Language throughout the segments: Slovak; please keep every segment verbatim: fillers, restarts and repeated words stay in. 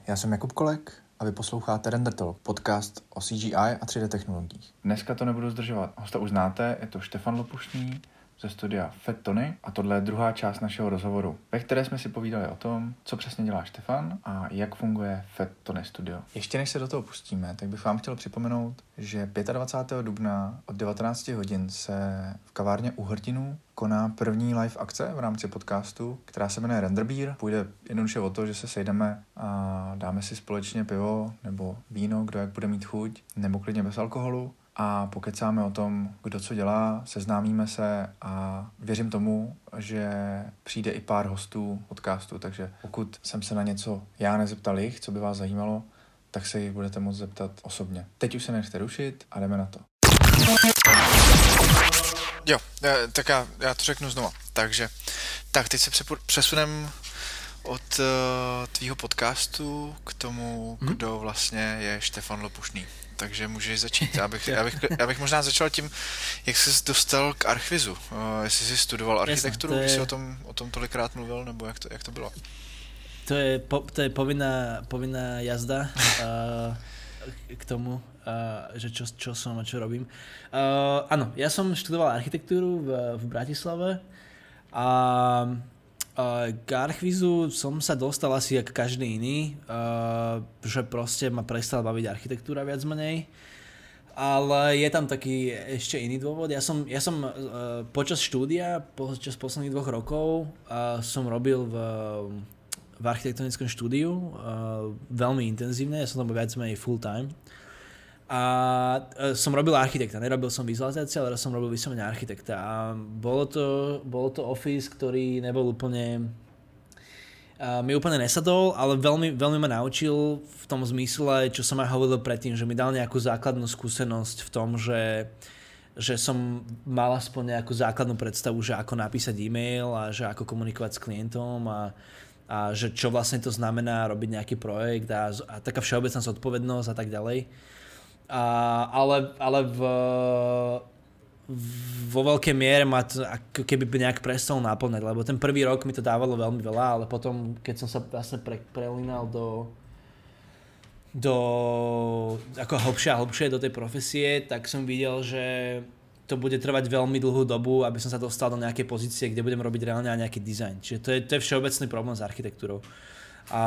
Já jsem Jakub Kolek a vy posloucháte Render Talk, podcast o C G I a tři dé technologiích. Dneska to nebudu zdržovat. Hosta už znáte, je to Štefan Lopušný ze studia Fat Tony a tohle je druhá část našeho rozhovoru, ve které jsme si povídali o tom, co přesně dělá Štefan a jak funguje Fat Tony Studio. Ještě než se do toho pustíme, tak bych vám chtěl připomenout, že dvacátého pátého dubna od devatenáct hodin se v kavárně U Hrdinů koná první live akce v rámci podcastu, která se jmenuje Render Beer. Půjde jednoduše o to, že se sejdeme a dáme si společně pivo nebo víno, kdo jak bude mít chuť, nebo klidně bez alkoholu. A pokecáme o tom, kdo co dělá, seznámíme se a věřím tomu, že přijde i pár hostů podcastu, takže pokud jsem se na něco já nezeptal jich, co by vás zajímalo, tak se jich budete moct zeptat osobně. Teď už se nechte rušit a jdeme na to. Jo, tak já, já to řeknu znova. Takže, tak teď se přesunem od uh, tvýho podcastu k tomu, hmm? kdo vlastně je Štefan Lopušný. Takže můžeš začít. Já bych, já, bych, já bych možná začal tím, jak jsi dostal k Archvizu. Uh, jestli jsi studoval architekturu, když jsi o tom, o tom tolikrát mluvil, nebo jak to, jak to bylo? To je, po, to je povinná, povinná jazda uh, k tomu, uh, že čo, čo som a čo robím. Uh, áno, ja som študoval architektúru v, v Bratislave a uh, k Archvizu som sa dostal asi jak každý iný, uh, že proste ma prestal baviť architektúra viac menej. Ale je tam taký ešte iný dôvod. Ja som, ja som uh, počas štúdia, počas posledných dvoch rokov uh, som robil v v architektonickom štúdiu, uh, veľmi intenzívne, ja som tam viac menej full time. A uh, som robil architekta, nerobil som vizualizáciu, ale som robil vyslovene architekta. A bolo to, bolo to office, ktorý nebol úplne, uh, mi úplne nesadol, ale veľmi, veľmi ma naučil v tom zmysle, čo som aj hovoril predtým, že mi dal nejakú základnú skúsenosť v tom, že že som mal aspoň nejakú základnú predstavu, že ako napísať e-mail a že ako komunikovať s klientom a a že čo vlastne to znamená robiť nejaký projekt a, a taká všeobecná zodpovednosť a tak ďalej. A, ale ale v, v, vo veľkej miere ma to ako keby nejak prestalo náplňať, lebo ten prvý rok mi to dávalo veľmi veľa, ale potom, keď som sa vlastne pre, prelínal do do ako hlbšie a hlbšie do tej profesie, tak som videl, že to bude trvať veľmi dlhú dobu, aby som sa dostal do nejakej pozície, kde budem robiť reálne aj nejaký dizajn. Čiže to je, to je všeobecný problém s architektúrou. A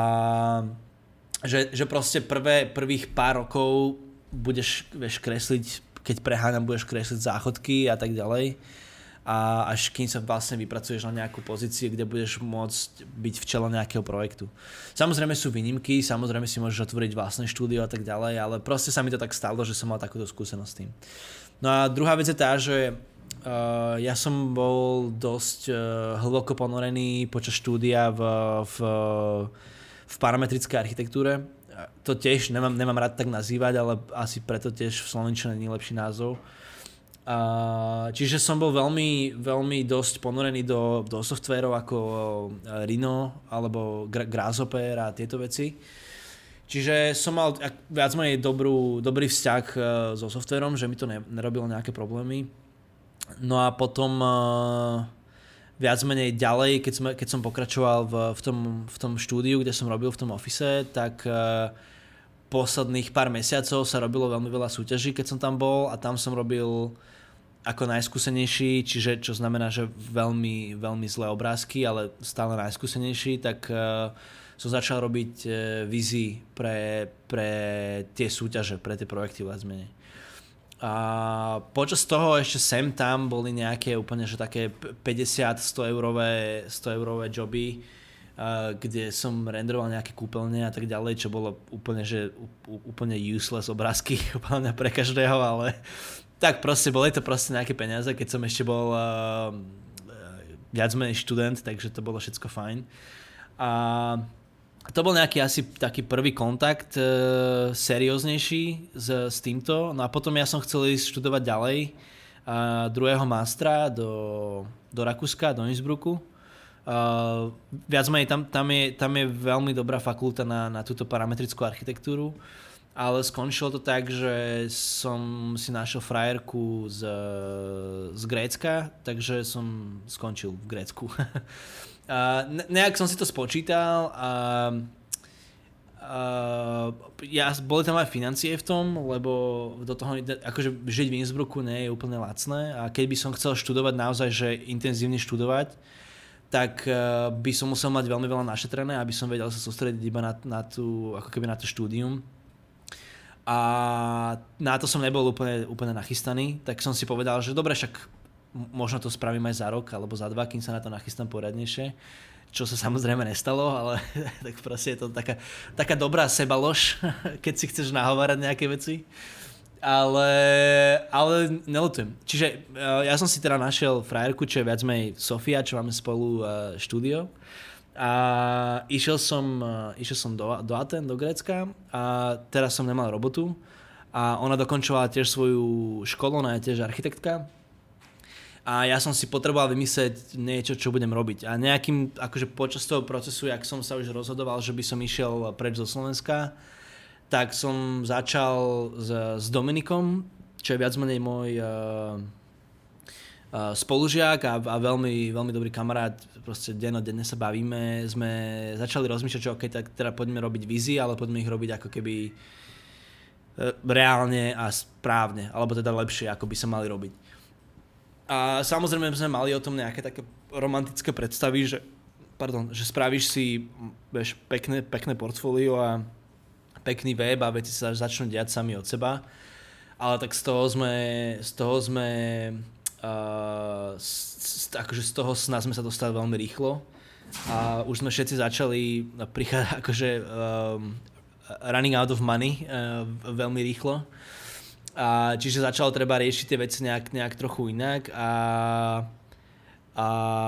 že, že proste prvé, prvých pár rokov budeš, vieš, kresliť, keď preháňam, budeš kresliť záchodky a tak ďalej. A až kým sa vlastne vypracuješ na nejakú pozíciu, kde budeš môcť byť v čele nejakého projektu. Samozrejme sú výnimky, samozrejme si môžeš otvoriť vlastné štúdio a tak ďalej, ale proste sa mi to tak stalo, že som mal takúto skúsenosť s tým. No a druhá vec je tá, že uh, ja som bol dosť uh, hlboko ponorený počas štúdia v, v, v parametrickej architektúre. To tiež nemám, nemám rád tak nazývať, ale asi preto tiež v slovenčine nie je lepší názov. Uh, čiže som bol veľmi, veľmi dosť ponorený do, do softverov ako Rhino alebo Grasshopper a tieto veci. Čiže som mal viac menej dobrú, dobrý vzťah so softverom, že mi to nerobilo nejaké problémy. No a potom uh, viac menej ďalej, keď, sme, keď som pokračoval v, v, tom, v tom štúdiu, kde som robil v tom office, tak uh, posledných pár mesiacov sa robilo veľmi veľa súťaží, keď som tam bol a tam som robil ako najskúsenejší, čiže čo znamená, že veľmi, veľmi zlé obrázky, ale stále najskúsenejší, tak uh, som začal robiť uh, vízy pre, pre tie súťaže, pre tie projekty viac menej. A počas toho ešte sem tam boli nejaké úplne, že také päťdesiat sto eurové, sto eurové joby, uh, kde som renderoval nejaké kúpeľne a tak ďalej, čo bolo úplne, že úplne useless obrázky úplne pre každého, ale tak proste boli to proste nejaké peniaze, keď som ešte bol uh, viac menej študent, takže to bolo všetko fajn. A to bol nejaký asi taký prvý kontakt uh, serióznejší s, s týmto. No a potom ja som chcel ísť študovať ďalej uh, druhého mástra do, do Rakúska, do Innsbrucku. Uh, viac menej tam, tam, je, tam je veľmi dobrá fakulta na, na túto parametrickú architektúru. Ale skončilo to tak, že som si našiel frajerku z, z Grécka, takže som skončil v Grécku. A nejak som si to spočítal a, uh, ja, boli tam aj financie v tom, lebo do toho, akože žiť v Innsbrucku nie je úplne lacné a keď by som chcel študovať naozaj, že intenzívne študovať, tak uh, by som musel mať veľmi veľa našetrené, aby som vedel sa sústrediť iba na, na, tú, ako keby na to štúdium. A na to som nebol úplne, úplne nachystaný, tak som si povedal, že dobre, však možno to spravím aj za rok alebo za dva, kým sa na to nachystám poriadnejšie. Čo sa samozrejme nestalo, ale tak proste je to taká, taká dobrá sebalož, keď si chceš nahovárať nejaké veci. Ale, ale nelutujem. Čiže ja som si teda našiel frajerku, čo je viac menej Sofia, čo máme spolu štúdio. A išiel som, išiel som do, do Aten, do Grécka a teraz som nemal robotu. A ona dokončovala tiež svoju školu, ona je tiež architektka. A ja som si potreboval vymyslieť niečo, čo budem robiť. A nejakým, akože počas toho procesu, jak som sa už rozhodoval, že by som išiel preč zo Slovenska, tak som začal s, s Dominikom, čo je viac menej môj uh, uh, spolužiak a, a veľmi, veľmi dobrý kamarát. Proste dennodenne sa bavíme. Sme začali rozmýšľať, že OK, tak teda poďme robiť vízie, ale poďme ich robiť ako keby reálne a správne, alebo teda lepšie, ako by sa mali robiť. A samozrejme sme mali o tom nejaké také romantické predstavy, že, pardon, že spravíš si vieš, pekné, pekné portfólio a pekný web a veci sa začnú diať sami od seba. Ale tak z toho sme, z toho sme, uh, z, akože z toho sna sme sa dostali veľmi rýchlo. A už sme všetci začali prichádzať, akože um, running out of money uh, veľmi rýchlo. A čiže začalo treba riešiť tie veci nejak, nejak trochu inak a a,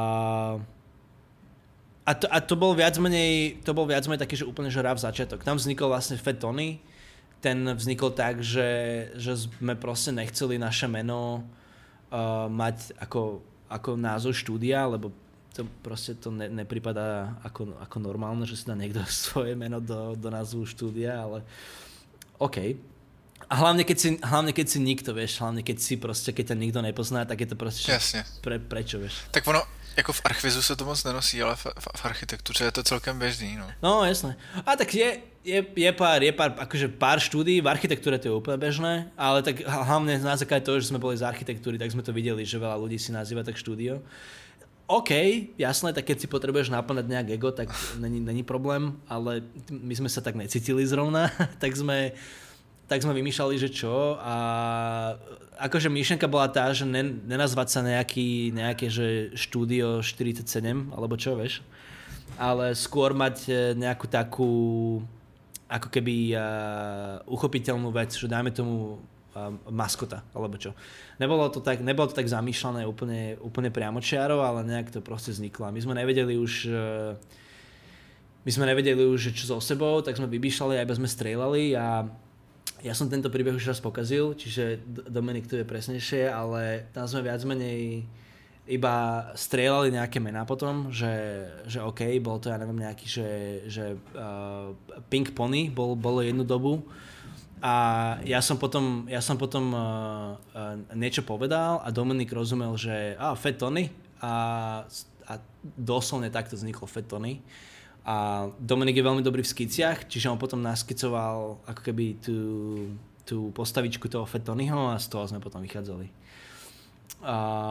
a, to, a to bol viac menej to bol viac menej taký, že úplne že ráv začiatok. Tam vznikol vlastne Fat Tony. Ten vznikol tak, že, že sme proste nechceli naše meno uh, mať ako, ako názov štúdia, lebo to proste to ne, nepripadá ako, ako normálne, že si dá niekto svoje meno do, do názvu štúdia, ale OK. A hlavne keď, si, hlavne keď si nikto, vieš, hlavne keď si proste, keď ťa nikto nepozná, tak je to proste pre, prečo, vieš. Tak ono, jako v archvizu se to moc nenosí, ale v, v, v architektuře je to celkem běžný, no. No, jasné. A tak je, je, je pár, je pár, akože pár štúdií, v architektúre to je úplne bežné, ale tak hlavne na základe toho, že sme boli z architektúry, tak sme to videli, že veľa ľudí si nazýva tak štúdio. OK, jasné, tak keď si potrebuješ naplňať nejak ego, tak není, není problém, ale my sme sa tak necítili zrovna, tak sme... tak sme vymýšľali, že čo a akože myšlenka bola tá, že nen, nenazvať sa nejaký, nejaké, že štúdio štyridsaťsedem, alebo čo, vieš, ale skôr mať nejakú takú ako keby uh, uchopiteľnú vec, že dajme tomu uh, maskota, alebo čo. Nebolo to tak, nebolo to tak zamýšľané úplne, úplne priamočiaro, ale nejak to proste vzniklo. My sme nevedeli už uh, my sme nevedeli už, čo so sebou, tak sme vymýšľali, aj sme strieľali a ja som tento príbeh už raz pokazil, čiže Dominik to je presnejšie, ale tam sme viac menej iba strieľali nejaké mená potom, že, že OK, bol to, ja neviem, nejaký, že, že uh, Pink Pony bol, bolo jednu dobu a ja som potom, ja som potom uh, uh, niečo povedal a Dominik rozumel, že ah, Fat Tony a, a doslovne takto vzniklo Fat Tony. A Dominik je veľmi dobrý v skiciach, čiže on potom naskicoval ako keby tú, tú postavičku toho Fat Tonyho a z toho sme potom vychádzali. A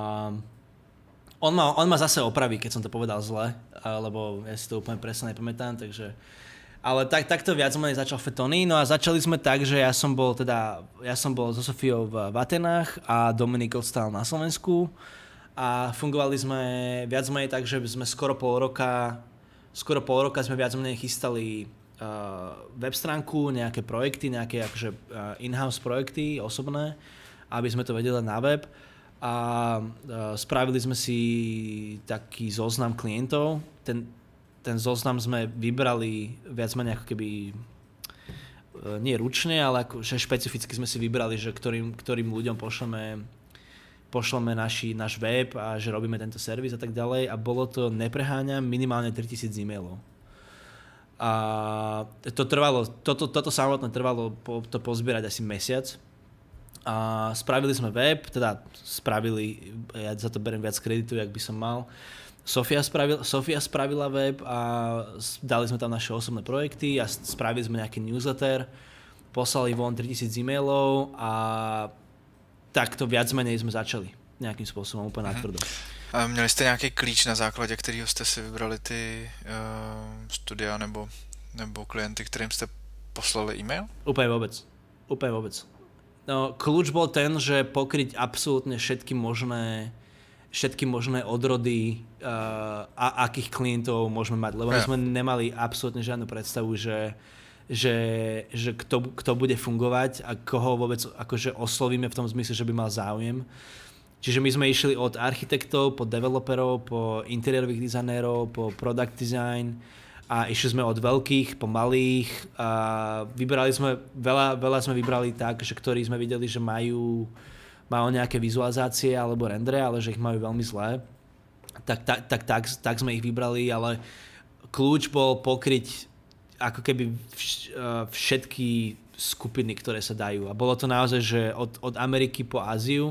on, ma, on ma zase opraví, keď som to povedal zle, lebo ja si to úplne presne nepamätám, takže... Ale tak, takto viac menej začal Fat Tony, no a začali sme tak, že ja som bol teda, ja som bol so Sofiou v, v Atenách a Dominik ostal na Slovensku a fungovali sme viac menej tak, že sme skoro pol roka Skoro pol roka sme viac menej chystali uh, web stránku, nejaké projekty, nejaké akože, uh, in-house projekty osobné, aby sme to vedeli na web. A uh, spravili sme si taký zoznam klientov. Ten, ten zoznam sme vybrali viac menej ako keby uh, nie ručne, ale akože špecificky sme si vybrali, že ktorým, ktorým ľuďom pošleme pošleme naši, náš web a že robíme tento servis a tak ďalej a bolo to, nepreháňam, minimálne tritisíc e-mailov. A to trvalo, toto, toto samotné trvalo po, to pozbierať asi mesiac a spravili sme web, teda spravili, ja za to beriem viac kreditu, jak by som mal, Sofia, spravil, Sofia spravila web a dali sme tam naše osobné projekty a spravili sme nejaký newsletter, poslali von tritisíc e-mailov a takto viac menej sme začali nejakým spôsobom úplne natvrdo. A měli jste nějaký klíč, na základě kterého jste si vybrali ty uh, studia nebo, nebo klienty, kterým jste poslali e-mail? Úplne vôbec. Úplne vôbec. No, kľúč bol ten, že pokryť absolútne všetky možné všetky možné odrody uh, a akých klientov môžeme mať. Lebo my sme nemali absolútne žiadnu predstavu, že, že, že kto, kto bude fungovať a koho vôbec akože oslovíme v tom zmysle, že by mal záujem. Čiže my sme išli od architektov, po developerov, po interiérových dizajnérov, po product design a išli sme od veľkých po malých a vybrali sme, veľa, veľa sme vybrali tak, že ktorí sme videli, že majú, majú nejaké vizualizácie alebo rendre, ale že ich majú veľmi zlé. Tak, tak, tak, tak, tak sme ich vybrali, ale kľúč bol pokryť ako keby všetky skupiny, ktoré sa dajú. A bolo to naozaj, že od, od Ameriky po Áziu.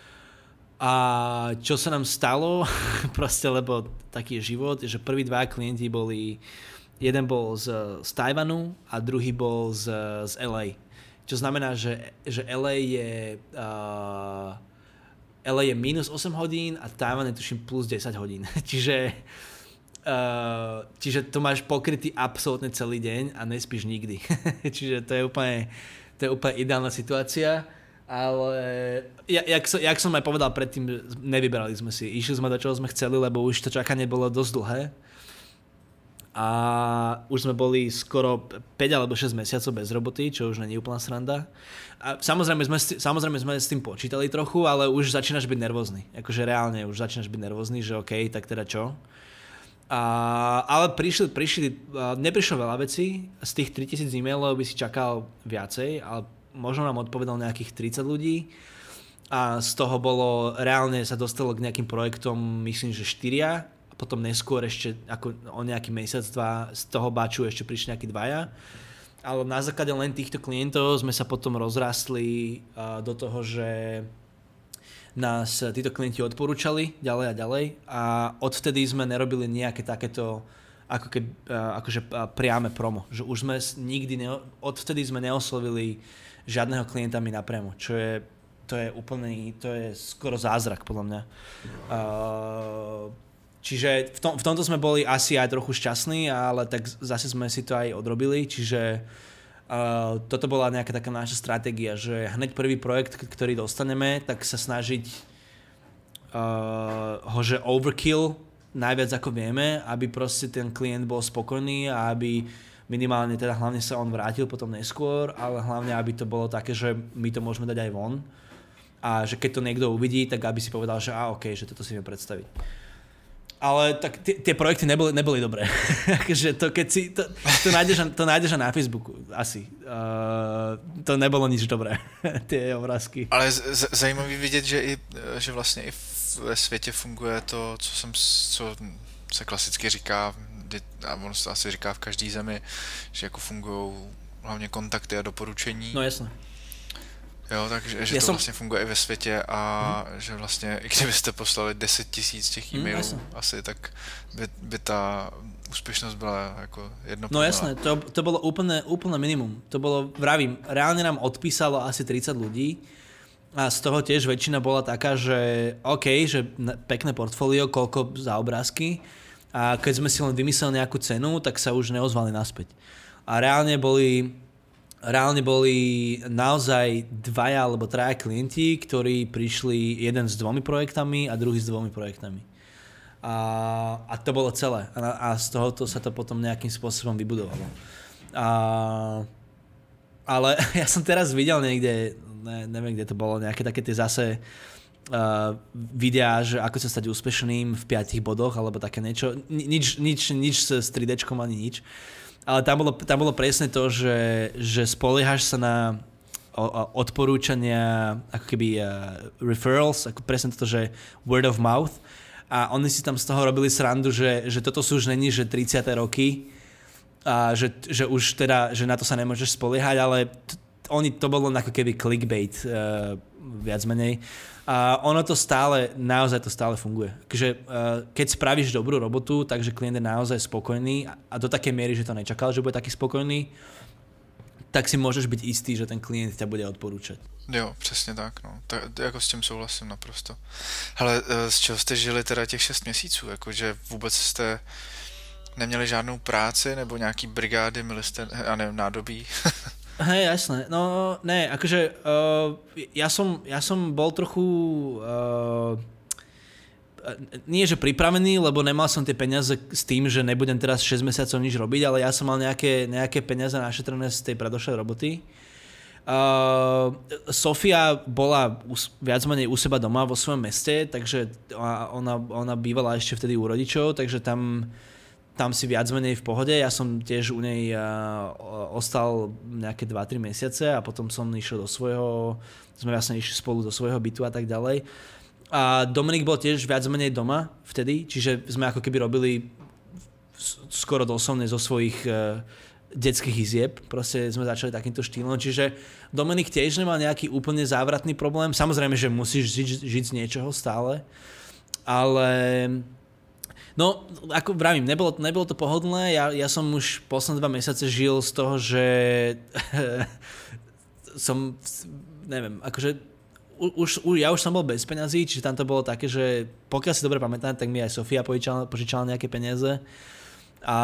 A čo sa nám stalo, proste, lebo taký je život, že prví dva klienti boli, jeden bol z, z Tajvanu a druhý bol z, z el ej. Čo znamená, že, že el ej je uh, el ej je minus osem hodín a Tajvan je tuším plus desať hodín. čiže, uh, čiže to máš pokrytý absolútne celý deň a nespíš nikdy. čiže to je úplne, to je úplne ideálna situácia. Ale jak, som, jak som aj povedal predtým, nevyberali sme si. Išli sme do čoho sme chceli, lebo už to čakanie bolo dosť dlhé. A už sme boli skoro päť alebo šesť mesiacov bez roboty, čo už nie je úplná sranda. A samozrejme sme, samozrejme sme s tým počítali trochu, ale už začínaš byť nervózny. Akože reálne už začínaš byť nervózny, že okej, okay, tak teda čo? A, ale prišli, prišli, neprišlo veľa vecí. Z tých tritisíc e-mailov by si čakal viacej, ale možno nám odpovedal nejakých tridsať ľudí a z toho bolo, reálne sa dostalo k nejakým projektom, myslím, že štyria a potom neskôr ešte ako o nejaký mesiac, dva z toho baču ešte prišli nejakí dvaja. Ale na základe len týchto klientov sme sa potom rozrastli uh, do toho, že nás títo klienti odporúčali ďalej a ďalej a odvtedy sme nerobili nejaké takéto ako keby, uh, akože uh, priame promo. Že už sme nikdy, ne, odvtedy sme neoslovili žiadneho klienta mi napriamo, čo je, to je úplný, to je skoro zázrak podľa mňa. Uh, čiže v, tom, v tomto sme boli asi aj trochu šťastní, ale tak zase sme si to aj odrobili, čiže uh, toto bola nejaká taká naša stratégia, že hneď prvý projekt, ktorý dostaneme, tak sa snažiť uh, ho, že overkill najviac ako vieme, aby proste ten klient bol spokojný a aby minimálne teda hlavne sa on vrátil potom neskôr, ale hlavne aby to bolo také, že my to môžeme dať aj von a že keď to niekto uvidí, tak aby si povedal, že á, okej, okay, že toto si viem predstaviť. Ale tak t- tie projekty neboli, neboli dobré. Takže to keď si, to, to, nájdeš, to nájdeš na Facebooku asi. Uh, to nebolo nič dobré, tie obrázky. Ale z- z- zajímavý vidět, že, i, že vlastně i ve světě funguje to, co, jsem, co se klasicky říká, a ono se asi říká v každé zemi, že jako fungují hlavně kontakty a doporučení. No jasně. Jo, takže že to som... vlastně funguje i ve světě a mm. že vlastně, i kdybyste poslali deset tisíc těch e-mailů mm, asi, tak by, by ta úspěšnost byla jako jedno. No jasné, to, to bolo úplne, úplne minimum. To bolo, vravím, reálne nám odpísalo asi tridsať ľudí a z toho tiež väčšina bola taká, že OK, že pekné portfólio, koľko za obrázky. A keď sme si len vymysleli nejakú cenu, tak sa už neozvali naspäť. A reálne boli, reálne boli naozaj dvaja alebo traja klienti, ktorí prišli jeden s dvomi projektami a druhý s dvomi projektami. A, a to bolo celé. A, a z tohoto sa to potom nejakým spôsobom vybudovalo. A, ale ja som teraz videl niekde, ne, neviem kde to bolo, nejaké také tie zase Uh, videá, že ako sa stať úspešným v piatich bodoch, alebo také niečo. Nič, nič, nič s tri déčkom ani nič. Ale tam bolo, tam bolo presne to, že, že spoliehaš sa na o, o, odporúčania, ako keby uh, referrals, ako presne to, že word of mouth. A oni si tam z toho robili srandu, že, že toto sú už není, že tridsiate roky, a že, že už teda, že na to sa nemôžeš spoliehať, ale t- oni to bolo ako keby clickbait uh, viac menej. A ono to stále, naozaj to stále funguje. Takže uh, keď spravíš dobrú robotu, takže klient je naozaj spokojný a do takej miery, že to nečakal, že bude taký spokojný, tak si môžeš byť istý, že ten klient ťa bude odporúčať. Jo, přesně tak, no. Tak, jako s tím souhlasím naprosto. Hele, z čeho jste žili teda těch šest měsíců? Jakože vůbec jste neměli žádnou práci nebo nějaký brigády, měli jste, já nevím, nádobí? Hej, jasné. No, ne, akože uh, ja, som, ja som bol trochu uh, nie že pripravený, lebo nemal som tie peniaze s tým, že nebudem teraz šesť mesiacov nič robiť, ale ja som mal nejaké, nejaké peniaze našetrené z tej predošlej roboty. Uh, Sofia bola us, viac menej u seba doma vo svojom meste, takže ona, ona bývala ešte vtedy u rodičov, takže tam tam si viac menej v pohode. Ja som tiež u nej uh, ostal nejaké dva tri mesiace a potom som išiel do svojho, sme vlastne išli spolu do svojho bytu a tak ďalej. A Dominik bol tiež viac menej doma vtedy, čiže sme ako keby robili skoro doslovne zo svojich uh, detských izieb. Proste sme začali takýmto štýlom. Čiže Dominik tiež nemal nejaký úplne závratný problém. Samozrejme, že musíš žiť, žiť z niečoho stále, ale no, ako vravím, nebolo, nebolo to pohodlné, ja, ja som už posledné dva mesiace žil z toho, že som, neviem, akože už, už, ja už som bol bez peňazí, čiže tam to bolo také, že pokiaľ si dobre pamätám, tak mi aj Sofia požičala, požičala nejaké peniaze a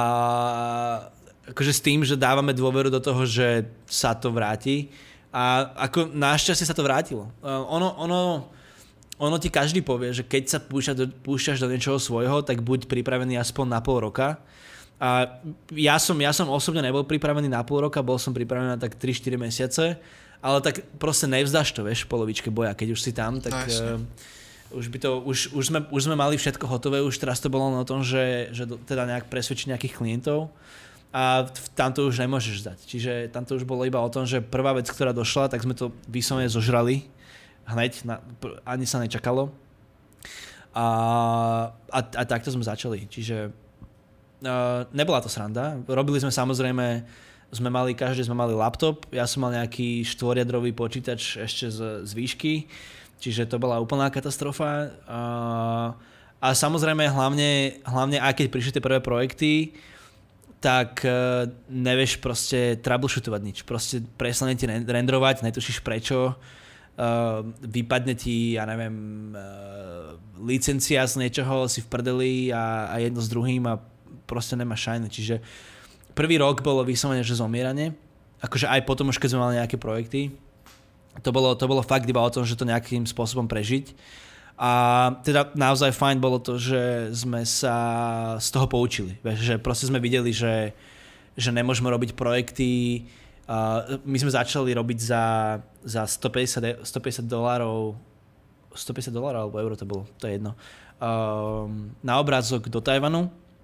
akože s tým, že dávame dôveru do toho, že sa to vráti a ako našťastie sa to vrátilo. Uh, ono, ono Ono ti každý povie, že keď sa púšťaš do, púšťaš do niečoho svojho, tak buď pripravený aspoň na pol roka. A ja som, ja som osobne nebol pripravený na pol roka, bol som pripravený na tak tri štyri mesiace, ale tak proste nevzdáš to, vieš, v polovičke boja. Keď už si tam, tak no, uh, už, by to, už, už, sme, už sme mali všetko hotové, už teraz to bolo o tom, že, že teda nejak presvedčiť nejakých klientov a tam to už nemôžeš zdať. Čiže tam to už bolo iba o tom, že prvá vec, ktorá došla, tak sme to vyslovene zožrali. Hneď, na, ani sa nečakalo. A, a, a takto sme začali. Čiže uh, nebola to sranda. Robili sme samozrejme, sme mali, každý sme mali laptop, ja som mal nejaký štvoriadrový počítač ešte z, z výšky, čiže to bola úplná katastrofa. Uh, a samozrejme hlavne, hlavne aj keď prišli tie prvé projekty, tak uh, nevieš proste troubleshootovať nič. Proste prestane ti renderovať, netušíš prečo. Uh, vypadne ti, ja neviem, uh, licencia z niečoho, si v prdeli a, a jedno s druhým a proste nemáš šajne. Čiže prvý rok bolo vyslovene, že zomieranie. Akože aj potom už, keď sme mali nejaké projekty. To bolo, to bolo fakt iba o tom, že to nejakým spôsobom prežiť. A teda naozaj fajn bolo to, že sme sa z toho poučili. Že proste sme videli, že, že nemôžeme robiť projekty. Uh, my sme začali robiť za, za stopäťdesiat dolárov, stopäťdesiat dolárov alebo euro to bolo, to je jedno, um, na obrázok do Tajvanu.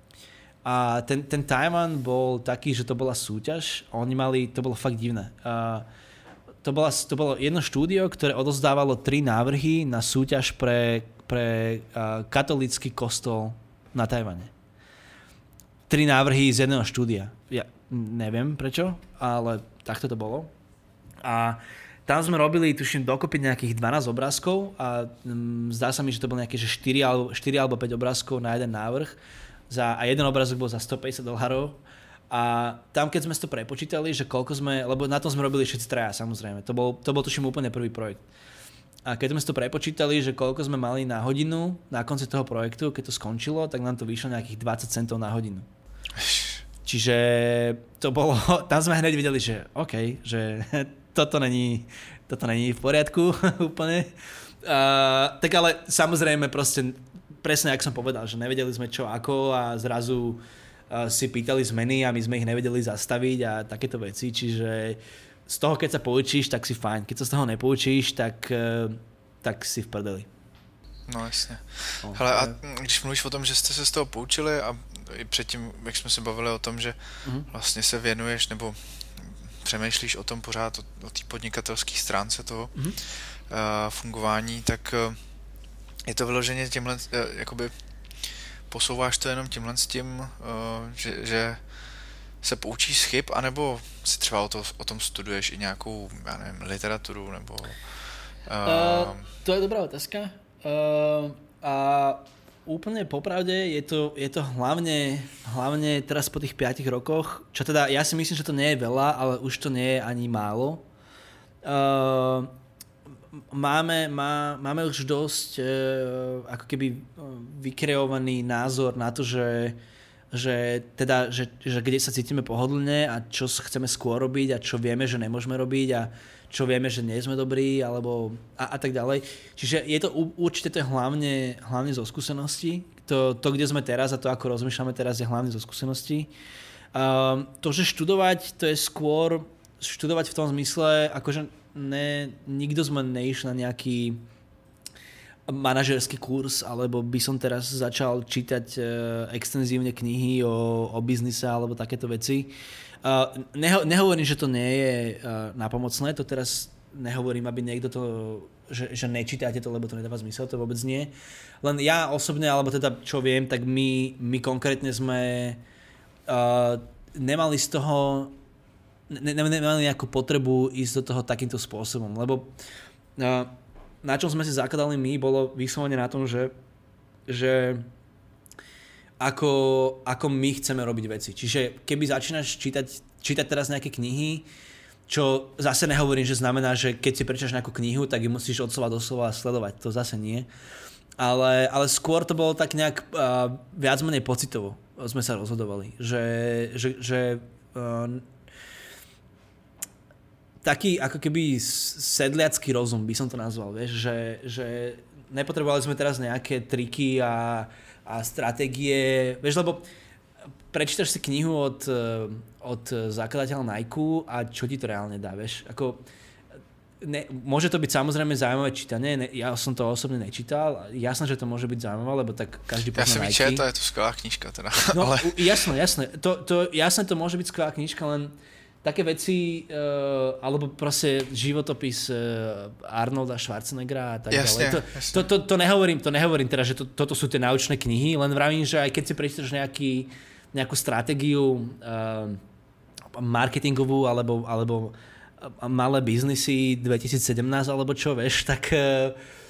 A ten, ten Tajvan bol taký, že to bola súťaž, oni mali, to bolo fakt divné. Uh, to, bola, to bolo jedno štúdio, ktoré odozdávalo tri návrhy na súťaž pre, pre uh, katolícky kostol na Tajvane. Tri návrhy z jedného štúdia. Ja neviem prečo, ale takto to bolo. A tam sme robili, tuším, dokopy nejakých dvanásť obrázkov a um, zdá sa mi, že to bolo nejaké že štyri alebo päť obrázkov na jeden návrh. Za, a jeden obrázok bol za stopäťdesiat dolárov. A tam, keď sme si to prepočítali, že koľko sme, lebo na tom sme robili všetci traja, samozrejme. To bol, to bol tuším úplne prvý projekt. A keď sme si to prepočítali, že koľko sme mali na hodinu na konci toho projektu, keď to skončilo, tak nám to vyšlo nejakých dvadsať centov na hodinu. Čiže to bolo, tam sme hneď videli, že OK, že toto není, toto není v poriadku úplne. Uh, tak ale samozrejme proste, presne jak som povedal, že nevedeli sme čo ako a zrazu uh, si pýtali zmeny a my sme ich nevedeli zastaviť a takéto veci, čiže z toho keď sa poučíš, tak si fajn. Keď sa z toho nepoučíš, tak, uh, tak si v prdeli. No jasně. No, hele, a když mluvíš o tom, že jste se z toho poučili a i předtím, jak jsme se bavili o tom, že mm-hmm. vlastně se věnuješ nebo přemýšlíš o tom pořád, o, o té podnikatelské stránce toho mm-hmm. uh, fungování, tak uh, je to vyloženě tímhle, uh, jakoby posouváš to jenom tímhle s tím, uh, že, že se poučíš z chyb, anebo si třeba o, to, o tom studuješ i nějakou, já nevím, literaturu, nebo... Uh... Uh, to je dobrá otázka. Uh, a úplne popravde je to, je to hlavne, hlavne teraz po tých piatich rokoch, čo teda ja si myslím, že to nie je veľa, ale už to nie je ani málo. Uh, máme, má, máme už dosť uh, ako keby vykreovaný názor na to, že, že, teda, že, že kde sa cítime pohodlne a čo chceme skôr robiť a čo vieme, že nemôžeme robiť a čo vieme, že nie sme dobrí alebo a, a tak ďalej. Čiže je to určite to je hlavne, hlavne zo skúseností. To, to, kde sme teraz a to, ako rozmýšľame teraz, je hlavne zo skúseností. Um, to, že študovať, to je skôr študovať v tom zmysle, akože ne, nikto sme neišli na nejaký manažerský kurz, alebo by som teraz začal čítať uh, extenzívne knihy o, o biznise alebo takéto veci. Uh, neho, nehovorím, že to nie je uh, napomocné, to teraz nehovorím, aby niekto to, že, že nečítate to, lebo to nedáva zmysel, to vôbec nie. Len ja osobne, alebo teda čo viem, tak my, my konkrétne sme uh, nemali z toho, ne, nemali nejakú potrebu ísť do toho takýmto spôsobom, lebo uh, na čom sme si zakladali my, bolo vyslovene na tom, že, že Ako, ako my chceme robiť veci. Čiže keby začínaš čítať, čítať teraz nejaké knihy, čo zase nehovorím, že znamená, že keď si prečítaš nejakú knihu, tak ju musíš od slova do slova sledovať. To zase nie. Ale, ale skôr to bolo tak nejak uh, viac menej pocitovo sme sa rozhodovali. Že, že, že uh, taký ako keby sedliacký rozum by som to nazval. Vieš? Že, že nepotrebovali sme teraz nejaké triky a a stratégie, vieš, lebo prečítaš si knihu od, od zakladateľa Nike a čo ti to reálne dá, vieš, ako ne, môže to byť samozrejme zaujímavé čítanie, ne, ja som to osobne nečítal, jasné, že to môže byť zaujímavé, lebo tak každý pozná Nike. Ja som ich čítal, je to skvelá knižka teda. No, ale... jasné, jasné, to, to, jasné to môže byť skvelá knižka, len také veci, uh, alebo proste životopis uh, Arnolda Schwarzeneggera a tak jasne, ďalej. To, to, to, to, nehovorím, to nehovorím teda, že to, toto sú tie naučné knihy, len vravím, že aj keď si prečítaš nejaký, nejakú stratégiu uh, marketingovú alebo, alebo malé biznisy dvetisícsedemnásť alebo čo, vieš, tak uh,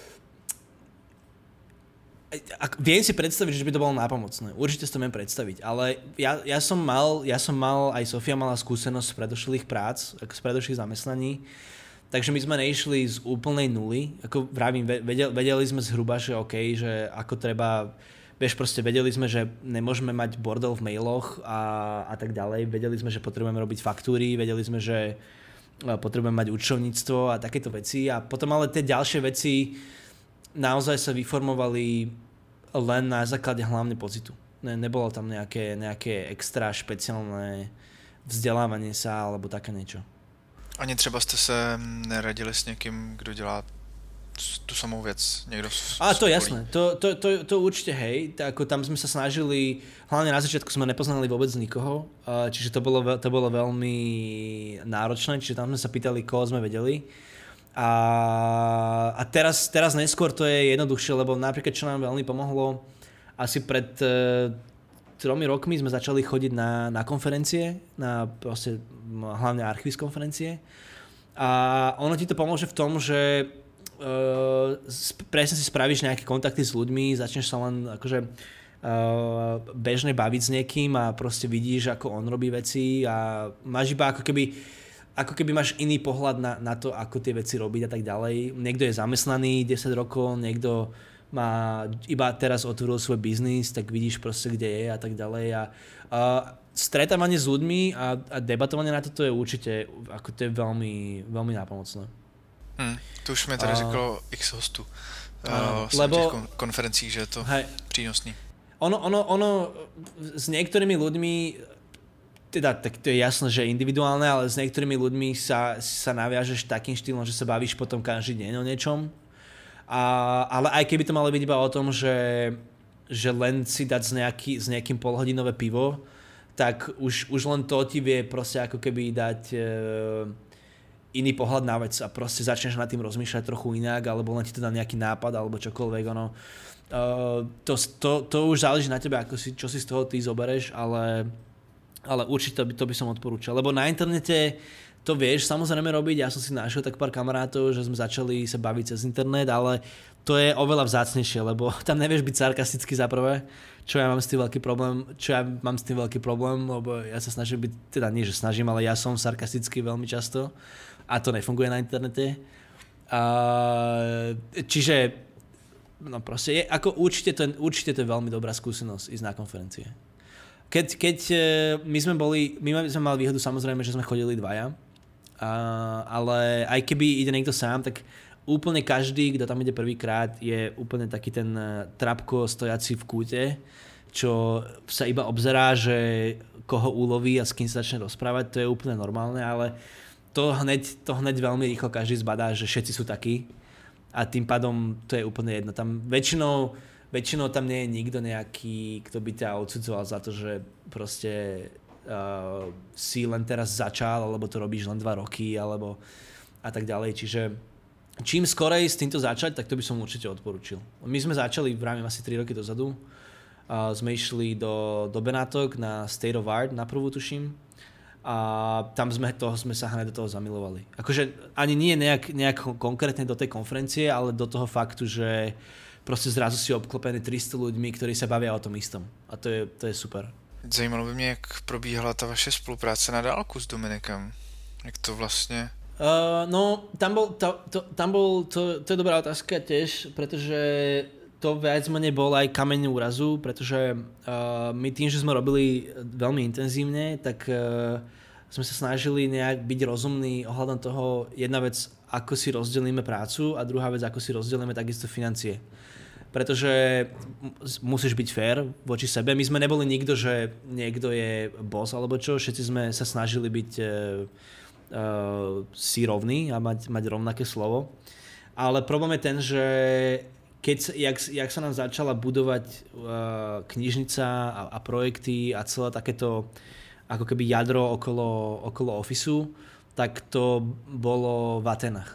viem si predstaviť, že by to bolo nápomocné. Určite si to viem predstaviť, ale ja, ja som mal, ja som mal, aj Sofia mala skúsenosť z predošlých prác, z predošlých zamestnaní, takže my sme neišli z úplnej nuly, ako vravím, vedeli, vedeli sme zhruba, že OK, že ako treba, vieš, proste vedeli sme, že nemôžeme mať bordel v mailoch a, a tak ďalej, vedeli sme, že potrebujeme robiť faktúry, vedeli sme, že potrebujeme mať účtovníctvo a takéto veci a potom ale tie ďalšie veci naozaj sa vyformovali len na základe hlavne pocitu. Ne, nebolo tam nejaké, nejaké extra špeciálne vzdelávanie sa alebo také niečo. Ani třeba jste se neradili s někým, kdo dělá tu samou věc? Někdo z, A to jasné, to, to, to, to určite hej, ako tam sme sa snažili, hlavne na začiatku sme nepoznali vôbec nikoho, čiže to bolo, to bolo veľmi náročné, čiže tam sme sa pýtali, koho sme vedeli. A, a teraz, teraz neskôr to je jednoduchšie, lebo napríklad čo nám veľmi pomohlo, asi pred e, tromi rokmi sme začali chodiť na, na konferencie, na proste hlavne archivist konferencie a ono ti to pomôže v tom, že e, presne si spravíš nejaké kontakty s ľuďmi, začneš sa len akože e, bežne baviť s niekým a proste vidíš, ako on robí veci a máš iba ako keby ako keby máš iný pohľad na, na to, ako tie veci robiť a tak ďalej. Niekto je zamestnaný desať rokov, niekto má iba teraz otvoril svoj biznis, tak vidíš proste, kde je a tak ďalej. A, a stretávanie s ľuďmi a, a debatovanie na toto je určite ako to je veľmi, veľmi nápomocné. Hmm, to už mi tady a... řeklo x hostů uh, lebo, v těch konferencích, že je to hej, přínosný. Ono, ono, ono s niektorými ľuďmi teda, tak to je jasné, že individuálne, ale s niektorými ľuďmi sa, sa naviažeš takým štýlom, že sa bavíš potom každý deň o niečom. A, ale aj keby to malo byť iba o tom, že, že len si dať s, nejaký, s nejakým polhodinové pivo, tak už, už len to ti vie proste ako keby dať e, iný pohľad na vec a proste začneš nad tým rozmýšľať trochu inak, alebo len ti to dá nejaký nápad, alebo čokoľvek, ono. E, to, to, to už záleží na tebe, ako si, čo si z toho ty zobereš, ale ale určite to by, to by som odporúčal, lebo na internete to vieš samozrejme robiť, ja som si našiel tak pár kamarátov, že sme začali sa baviť cez internet, ale to je oveľa vzácnejšie, lebo tam nevieš byť sarkastický za prvé, čo ja mám s tým veľký problém, čo ja mám s tým veľký problém, lebo ja sa snažím byť, teda nie, že snažím, ale ja som sarkastický veľmi často a to nefunguje na internete. A, čiže, no proste, je, ako určite to, určite to je veľmi dobrá skúsenosť ísť na konferencie. Keď, keď my sme boli, my sme mali výhodu samozrejme, že sme chodili dvaja, a, ale aj keby ide niekto sám, tak úplne každý, kto tam ide prvýkrát, je úplne taký ten trapko stojaci v kúte, čo sa iba obzerá, že koho uloví a s kým sa začne rozprávať, to je úplne normálne, ale to hneď, to hneď veľmi rýchlo každý zbadá, že všetci sú takí a tým pádom to je úplne jedno. Tam väčšinou, väčšinou tam nie je nikto nejaký, kto by ťa odsudzoval za to, že proste uh, si len teraz začal, alebo to robíš len dva roky, alebo a tak ďalej, čiže čím skorej s týmto začať, tak to by som určite odporučil. My sme začali, vravím, asi tri roky dozadu. Uh, sme išli do, do Benátok na State of Art, na prvú tuším. A tam sme, toho, sme sa hneď do toho zamilovali. Akože ani nie nejak, nejak konkrétne do tej konferencie, ale do toho faktu, že proste zrazu si obklopený tristo ľuďmi, ktorí sa bavia o tom istom. A to je, to je super. Zajímalo by mě, jak probíhala ta vaše spolupráce na dálku s Dominikem. Jak to vlastně... Uh, no, tam bol, to, to, tam bol to, to je dobrá otázka tiež, pretože to viac menej bol aj kameň úrazu, pretože uh, my tým, že sme robili veľmi intenzívne, tak uh, sme sa snažili nejak byť rozumní ohľadom toho, jedna vec, ako si rozdelíme prácu a druhá vec, ako si rozdelíme takisto financie. Pretože musíš byť fair voči sebe. My sme neboli nikto, že niekto je boss alebo čo, všetci sme sa snažili byť uh, Uh, si rovný a mať, mať rovnaké slovo. Ale problém je ten, že keď, jak, jak sa nám začala budovať uh, knižnica a, a projekty a celé takéto ako keby jadro okolo, okolo ofisu, tak to bolo v Atenách.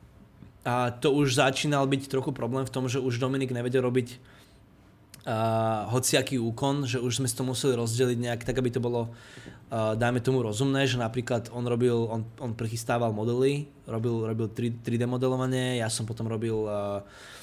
A to už začínal byť trochu problém v tom, že už Dominik nevedel robiť uh, hociaký úkon, že už sme si to museli rozdeliť nejak tak, aby to bolo Uh, dajme tomu rozumné, že napríklad on robil, on, on prichystával modely, robil, robil tri dé modelovanie, ja som potom robil uh,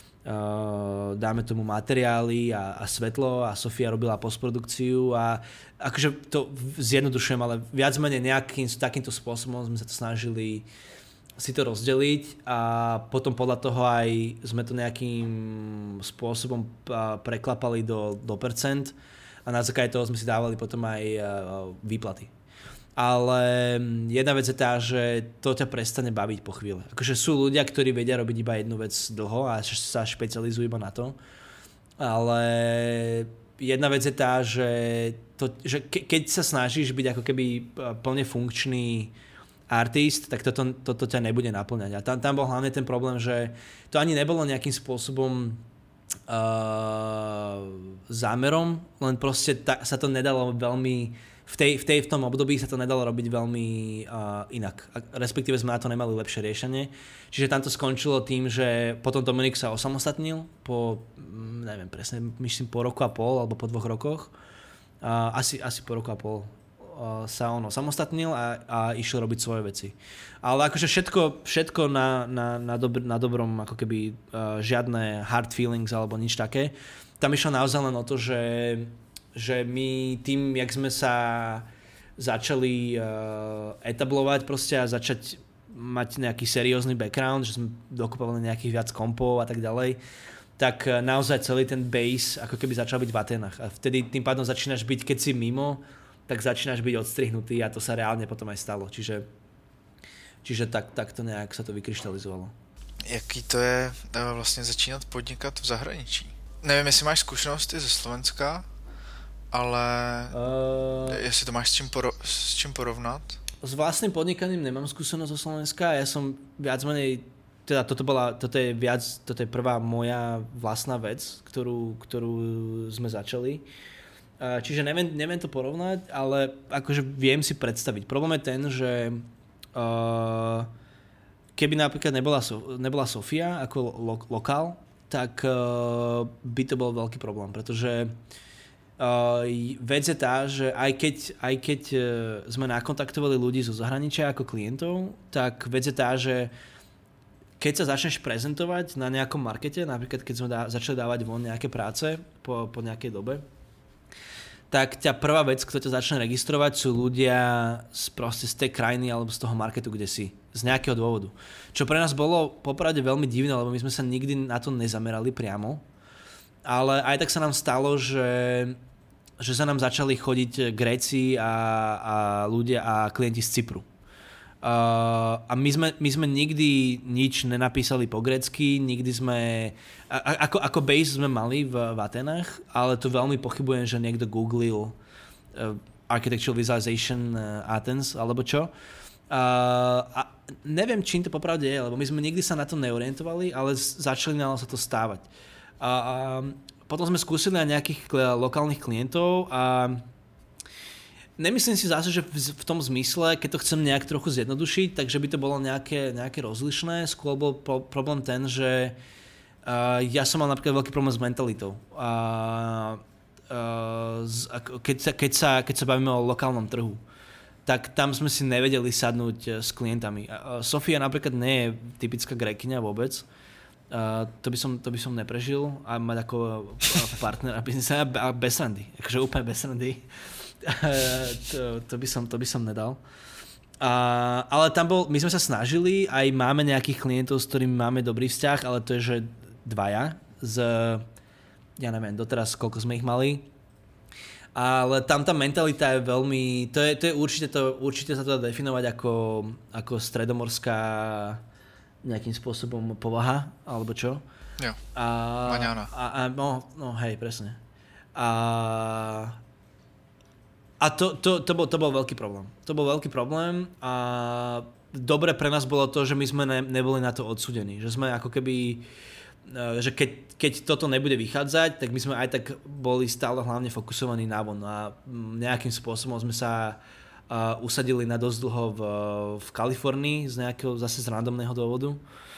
uh, dáme tomu materiály a, a svetlo a Sofia robila postprodukciu a akože to zjednodušujem, ale viac menej nejakým takýmto spôsobom sme sa to snažili si to rozdeliť a potom podľa toho aj sme to nejakým spôsobom uh, preklapali do, do percent. A na základe toho sme si dávali potom aj výplaty. Ale jedna vec je tá, že to ťa prestane baviť po chvíli. Akože sú ľudia, ktorí vedia robiť iba jednu vec dlho a sa špecializujú iba na to. Ale jedna vec je tá, že, to, že ke, keď sa snažíš byť ako keby plne funkčný artist, tak toto, toto ťa nebude naplňať. A tam, tam bol hlavne ten problém, že to ani nebolo nejakým spôsobom Uh, zámerom, len proste ta, sa to nedalo veľmi v, tej, v, tej, v tom období sa to nedalo robiť veľmi uh, inak. A respektíve sme na to nemali lepšie riešenie. Čiže tam to skončilo tým, že potom Dominik sa osamostatnil po, neviem presne, myslím po roku a pol alebo po dvoch rokoch. Uh, asi, asi po roku a pol sa on osamostatnil a, a išiel robiť svoje veci. Ale akože všetko, všetko na, na, na, dobr, na dobrom, ako keby uh, žiadne hard feelings alebo nič také. Tam išlo naozaj len o to, že, že my tým, jak sme sa začali uh, etablovať proste a začať mať nejaký seriózny background, že sme dokupovali nejakých viac kompov a tak ďalej, tak naozaj celý ten base ako keby začal byť v Atenách. A vtedy tým pádom začínaš byť, keď si mimo, tak začínaš byť odstrihnutý a to sa reálne potom aj stalo. Čiže, čiže tak, tak to nejak sa to vykryštalizovalo. Jaký to je vlastně začínat podnikat v zahraničí? Nevím, jestli máš zkušenosti ze Slovenska, ale uh, jestli to máš s čím, poro- s čím porovnat? S vlastným podnikaním nemám skúsenosť zo Slovenska. Ja som viac menej, teda toto bola, toto je viac, toto je prvá moja vlastná vec, ktorú, ktorú sme začali. Čiže neviem, neviem to porovnať, ale akože viem si predstaviť. Problém je ten, že uh, keby napríklad nebola, so, nebola Sofia ako lo, lokál, tak uh, by to bol veľký problém, pretože Uh, vec je tá, že aj keď, aj keď uh, sme nakontaktovali ľudí zo zahraničia ako klientov, tak vec je tá, že keď sa začneš prezentovať na nejakom markete, napríklad keď sme dá, začali dávať von nejaké práce po, po nejakej dobe, tak ťa prvá vec, kto ťa začne registrovať, sú ľudia z, proste z tej krajiny alebo z toho marketu, kde si. Z nejakého dôvodu. Čo pre nás bolo popravde veľmi divné, lebo my sme sa nikdy na to nezamerali priamo. Ale aj tak sa nám stalo, že, že sa nám začali chodiť Gréci a, a ľudia a klienti z Cypru. Uh, a my sme, my sme nikdy nič nenapísali po grécky, nikdy sme, a, ako, ako base sme mali v, v Atenách, ale to veľmi pochybujem, že niekto googlil uh, Architectural Visualization uh, Athens, alebo čo. Uh, a neviem, čím to popravde je, lebo my sme nikdy sa na to neorientovali, ale začali nám sa to stávať. Uh, uh, potom sme skúsili aj nejakých lokálnych klientov a nemyslím si zase, že v tom zmysle, keď to chcem nejak trochu zjednodušiť, takže by to bolo nejaké, nejaké rozlišné. Skôr bol pro, problém ten, že uh, ja som mal napríklad veľký problém s mentalitou. Uh, uh, z, keď, sa, keď, sa, keď sa bavíme o lokálnom trhu, tak tam sme si nevedeli sadnúť s klientami. Uh, Sofia napríklad nie je typická Grékyňa vôbec. Uh, to, by som, to by som neprežil a mať ako partnera biznisa a bez randy. Akože úplne bez randy. to, to, by som, to by som nedal. Uh, ale tam bol, my sme sa snažili, aj máme nejakých klientov, s ktorými máme dobrý vzťah, ale to je, že dvaja z, ja neviem, doteraz koľko sme ich mali. Ale tam tá mentalita je veľmi, to je, to je určite, to, určite sa to dá definovať ako, ako stredomorská nejakým spôsobom povaha, alebo čo. Jo, a, maňána. A, a, no, no hej, presne. A, a to, to, to, bol, to bol veľký problém. To bol veľký problém a dobre pre nás bolo to, že my sme ne, neboli na to odsúdení. Že sme ako keby, že keď, keď toto nebude vychádzať, tak my sme aj tak boli stále hlavne fokusovaní na von. A nejakým spôsobom sme sa uh, usadili na dosť dlho v, v Kalifornii z nejakého zase z randomného dôvodu.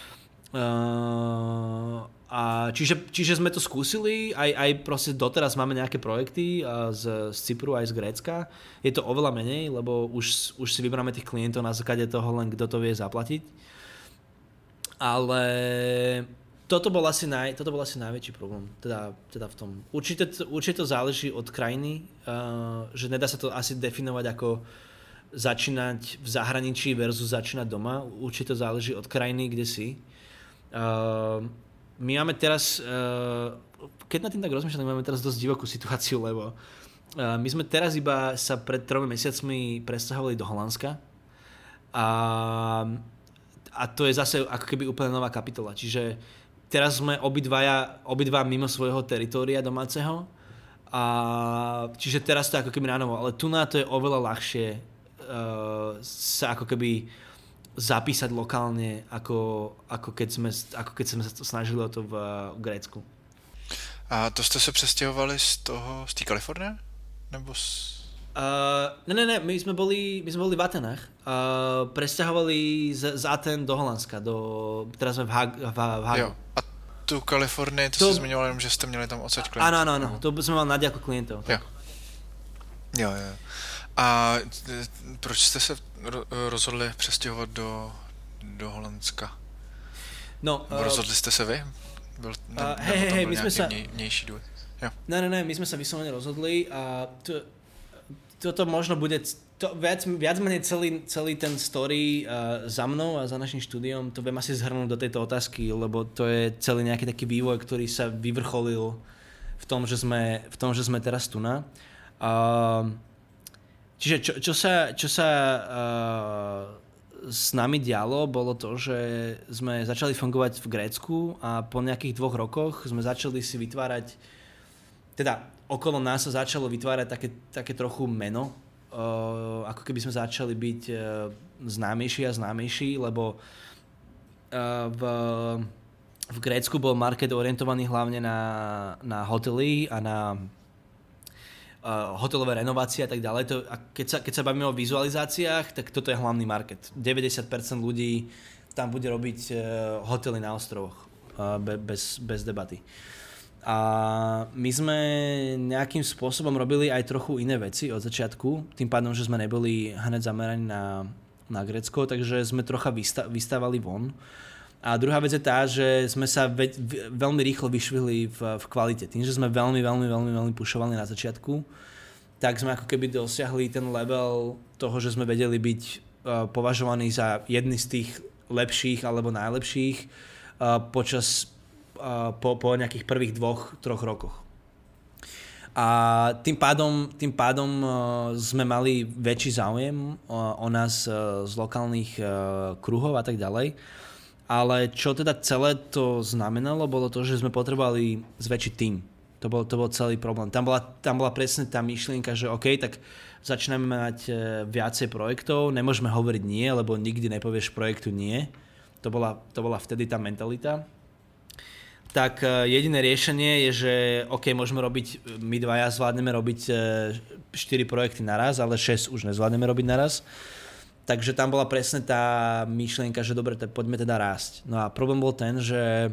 Uh, a čiže, čiže sme to skúsili, aj, aj proste doteraz máme nejaké projekty uh, z, z Cypru aj z Grécka. Je to oveľa menej, lebo už, už si vyberáme tých klientov na základe toho len kto to vie zaplatiť. Ale toto bol asi, naj, toto bol asi najväčší problém, teda, teda v tom. Určite, určite to záleží od krajiny, uh, že nedá sa to asi definovať ako začínať v zahraničí versus začínať doma. Určite to záleží od krajiny, kde si. Uh, my máme teraz, uh, keď na tým tak rozmýšľam, máme teraz dosť divokú situáciu, lebo uh, my sme teraz iba sa pred tromi mesiacmi presťahovali do Holandska a, a to je zase ako keby úplne nová kapitola. Čiže teraz sme obidvaja, obidva mimo svojho teritória domáceho a čiže teraz to je ako keby na novo, ale tu na to je oveľa ľahšie uh, sa ako keby zapísať lokálne, ako, ako, keď sme, ako keď sme sa snažili o to v, v Grécku. A to jste se přestěhovali z toho, z té Kalifornie? Nebo z... Uh, ne, ne, ne, my sme boli, my sme boli v Atenách. Uh, presťahovali z, z Aten do Holandska, do, teraz sme v, Hag, v, v Hagu. Jo, a tu Kalifornii, to, to... jsi zmiňoval jenom, že jste měli tam odsaď klientů. Áno, áno, áno, to sme mali na diaľku klientov. Jo. jo, jo. A proč jste se rozhodli přestěhovat do, do Holandska? No, uh, rozhodli jste se vy? Byl, ne, uh, hej, hej, hej, my sme sa... vnější důvod? Jo. Ne, ne, ne, my sme sa vyslovene rozhodli a to, toto možno bude, to viac, viac menej celý, celý ten story uh, za mnou a za našim štúdiom, to viem asi zhrnúť do tejto otázky, lebo to je celý nejaký taký vývoj, ktorý sa vyvrcholil v tom, že sme, v tom, že sme teraz tu na. Uh, Čiže čo, čo sa, čo sa uh, s nami dialo, bolo to, že sme začali fungovať v Grécku a po nejakých dvoch rokoch sme začali si vytvárať, teda okolo nás sa začalo vytvárať také, také trochu meno, uh, ako keby sme začali byť uh, známejší a známejší, lebo uh, v, v Grécku bol market orientovaný hlavne na, na hotely a na Uh, hotelové renovácie a tak ďalej. To, a keď, sa, keď sa bavíme o vizualizáciách, tak toto je hlavný market. deväťdesiat percent ľudí tam bude robiť uh, hotely na ostrovoch uh, be, bez, bez debaty. A my sme nejakým spôsobom robili aj trochu iné veci od začiatku, tým pádom, že sme neboli hneď zameraní na, na Grécko, takže sme trocha vysta- vystávali von. A druhá vec je tá, že sme sa ve- veľmi rýchlo vyšvihli v, v kvalite. Tým, že sme veľmi, veľmi, veľmi, veľmi pušovali na začiatku, tak sme ako keby dosiahli ten level toho, že sme vedeli byť uh, považovaní za jedni z tých lepších alebo najlepších uh, počas uh, po, po nejakých prvých dvoch, troch rokoch. A tým pádom, tým pádom uh, sme mali väčší záujem uh, o nás uh, z lokálnych uh, kruhov a tak ďalej. Ale čo teda celé to znamenalo, bolo to, že sme potrebovali zväčšiť tím. To bol, to bol celý problém. Tam bola, tam bola presne tá myšlienka, že OK, tak začneme mať viacej projektov, nemôžeme hovoriť nie, lebo nikdy nepovieš projektu nie. To bola, to bola vtedy tá mentalita. Tak jediné riešenie je, že OK, môžeme robiť, my dvaja zvládneme robiť štyri projekty naraz, ale šesť už nezvládneme robiť naraz. Takže tam bola presne tá myšlienka, že dobre, poďme teda rásť. No a problém bol ten, že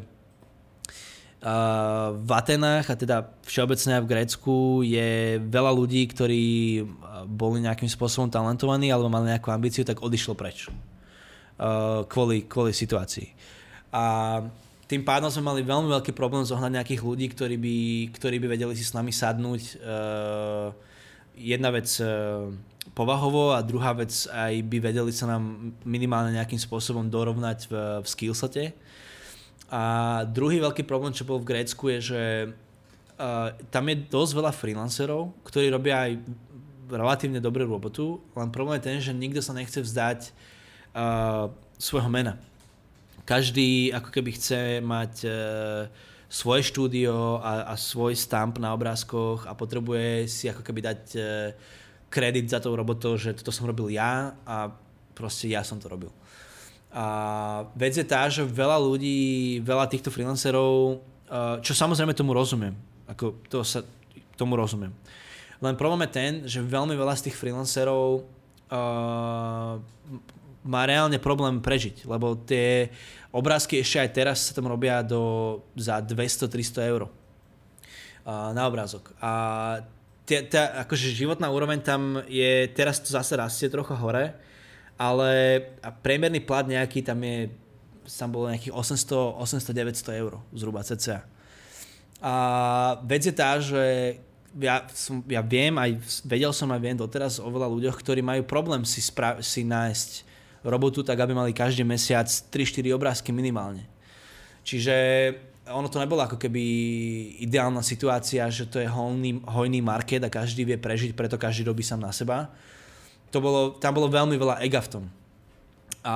Uh, v Atenách a teda všeobecne aj v Grécku je veľa ľudí, ktorí boli nejakým spôsobom talentovaní alebo mali nejakú ambíciu, tak odišlo preč uh, kvôli, kvôli situácii. A tým pádom sme mali veľmi veľký problém zohnať nejakých ľudí, ktorí by, ktorí by vedeli si s nami sadnúť. Uh, jedna vec uh, povahovo a druhá vec aj by vedeli sa nám minimálne nejakým spôsobom dorovnať v, v skillsete. A druhý veľký problém, čo bol v Grécku, je, že uh, tam je dosť veľa freelancerov, ktorí robia aj relatívne dobrú robotu, len problém je ten, že nikto sa nechce vzdať uh, svojho mena. Každý ako keby chce mať uh, svoje štúdio a, a svoj stamp na obrázkoch a potrebuje si ako keby dať uh, kredit za tou robotou, že toto som robil ja a proste ja som to robil. A vec je tá, že veľa ľudí, veľa týchto freelancerov, čo samozrejme tomu rozumiem, ako to sa, tomu rozumiem. Len problém je ten, že veľmi veľa z tých freelancerov uh, má reálne problém prežiť, lebo tie obrázky ešte aj teraz sa tam robia do, za dvesto tristo eur uh, na obrázok. A tá, tá akože životná úroveň tam je, teraz to zase rastie trocha hore, ale priemerný plat nejaký tam je, tam bolo nejakých osemsto deväťsto eur zhruba cca. A vec je tá, že ja, som, ja viem, aj vedel som aj viem doteraz o veľa ľuďoch, ktorí majú problém si, spra- si nájsť robotu tak, aby mali každý mesiac tri štyri obrázky minimálne. Čiže ono to nebolo ako keby ideálna situácia, že to je hojný, hojný market a každý vie prežiť, preto každý robí sám na seba. To bolo, tam bolo veľmi veľa ega v tom. A,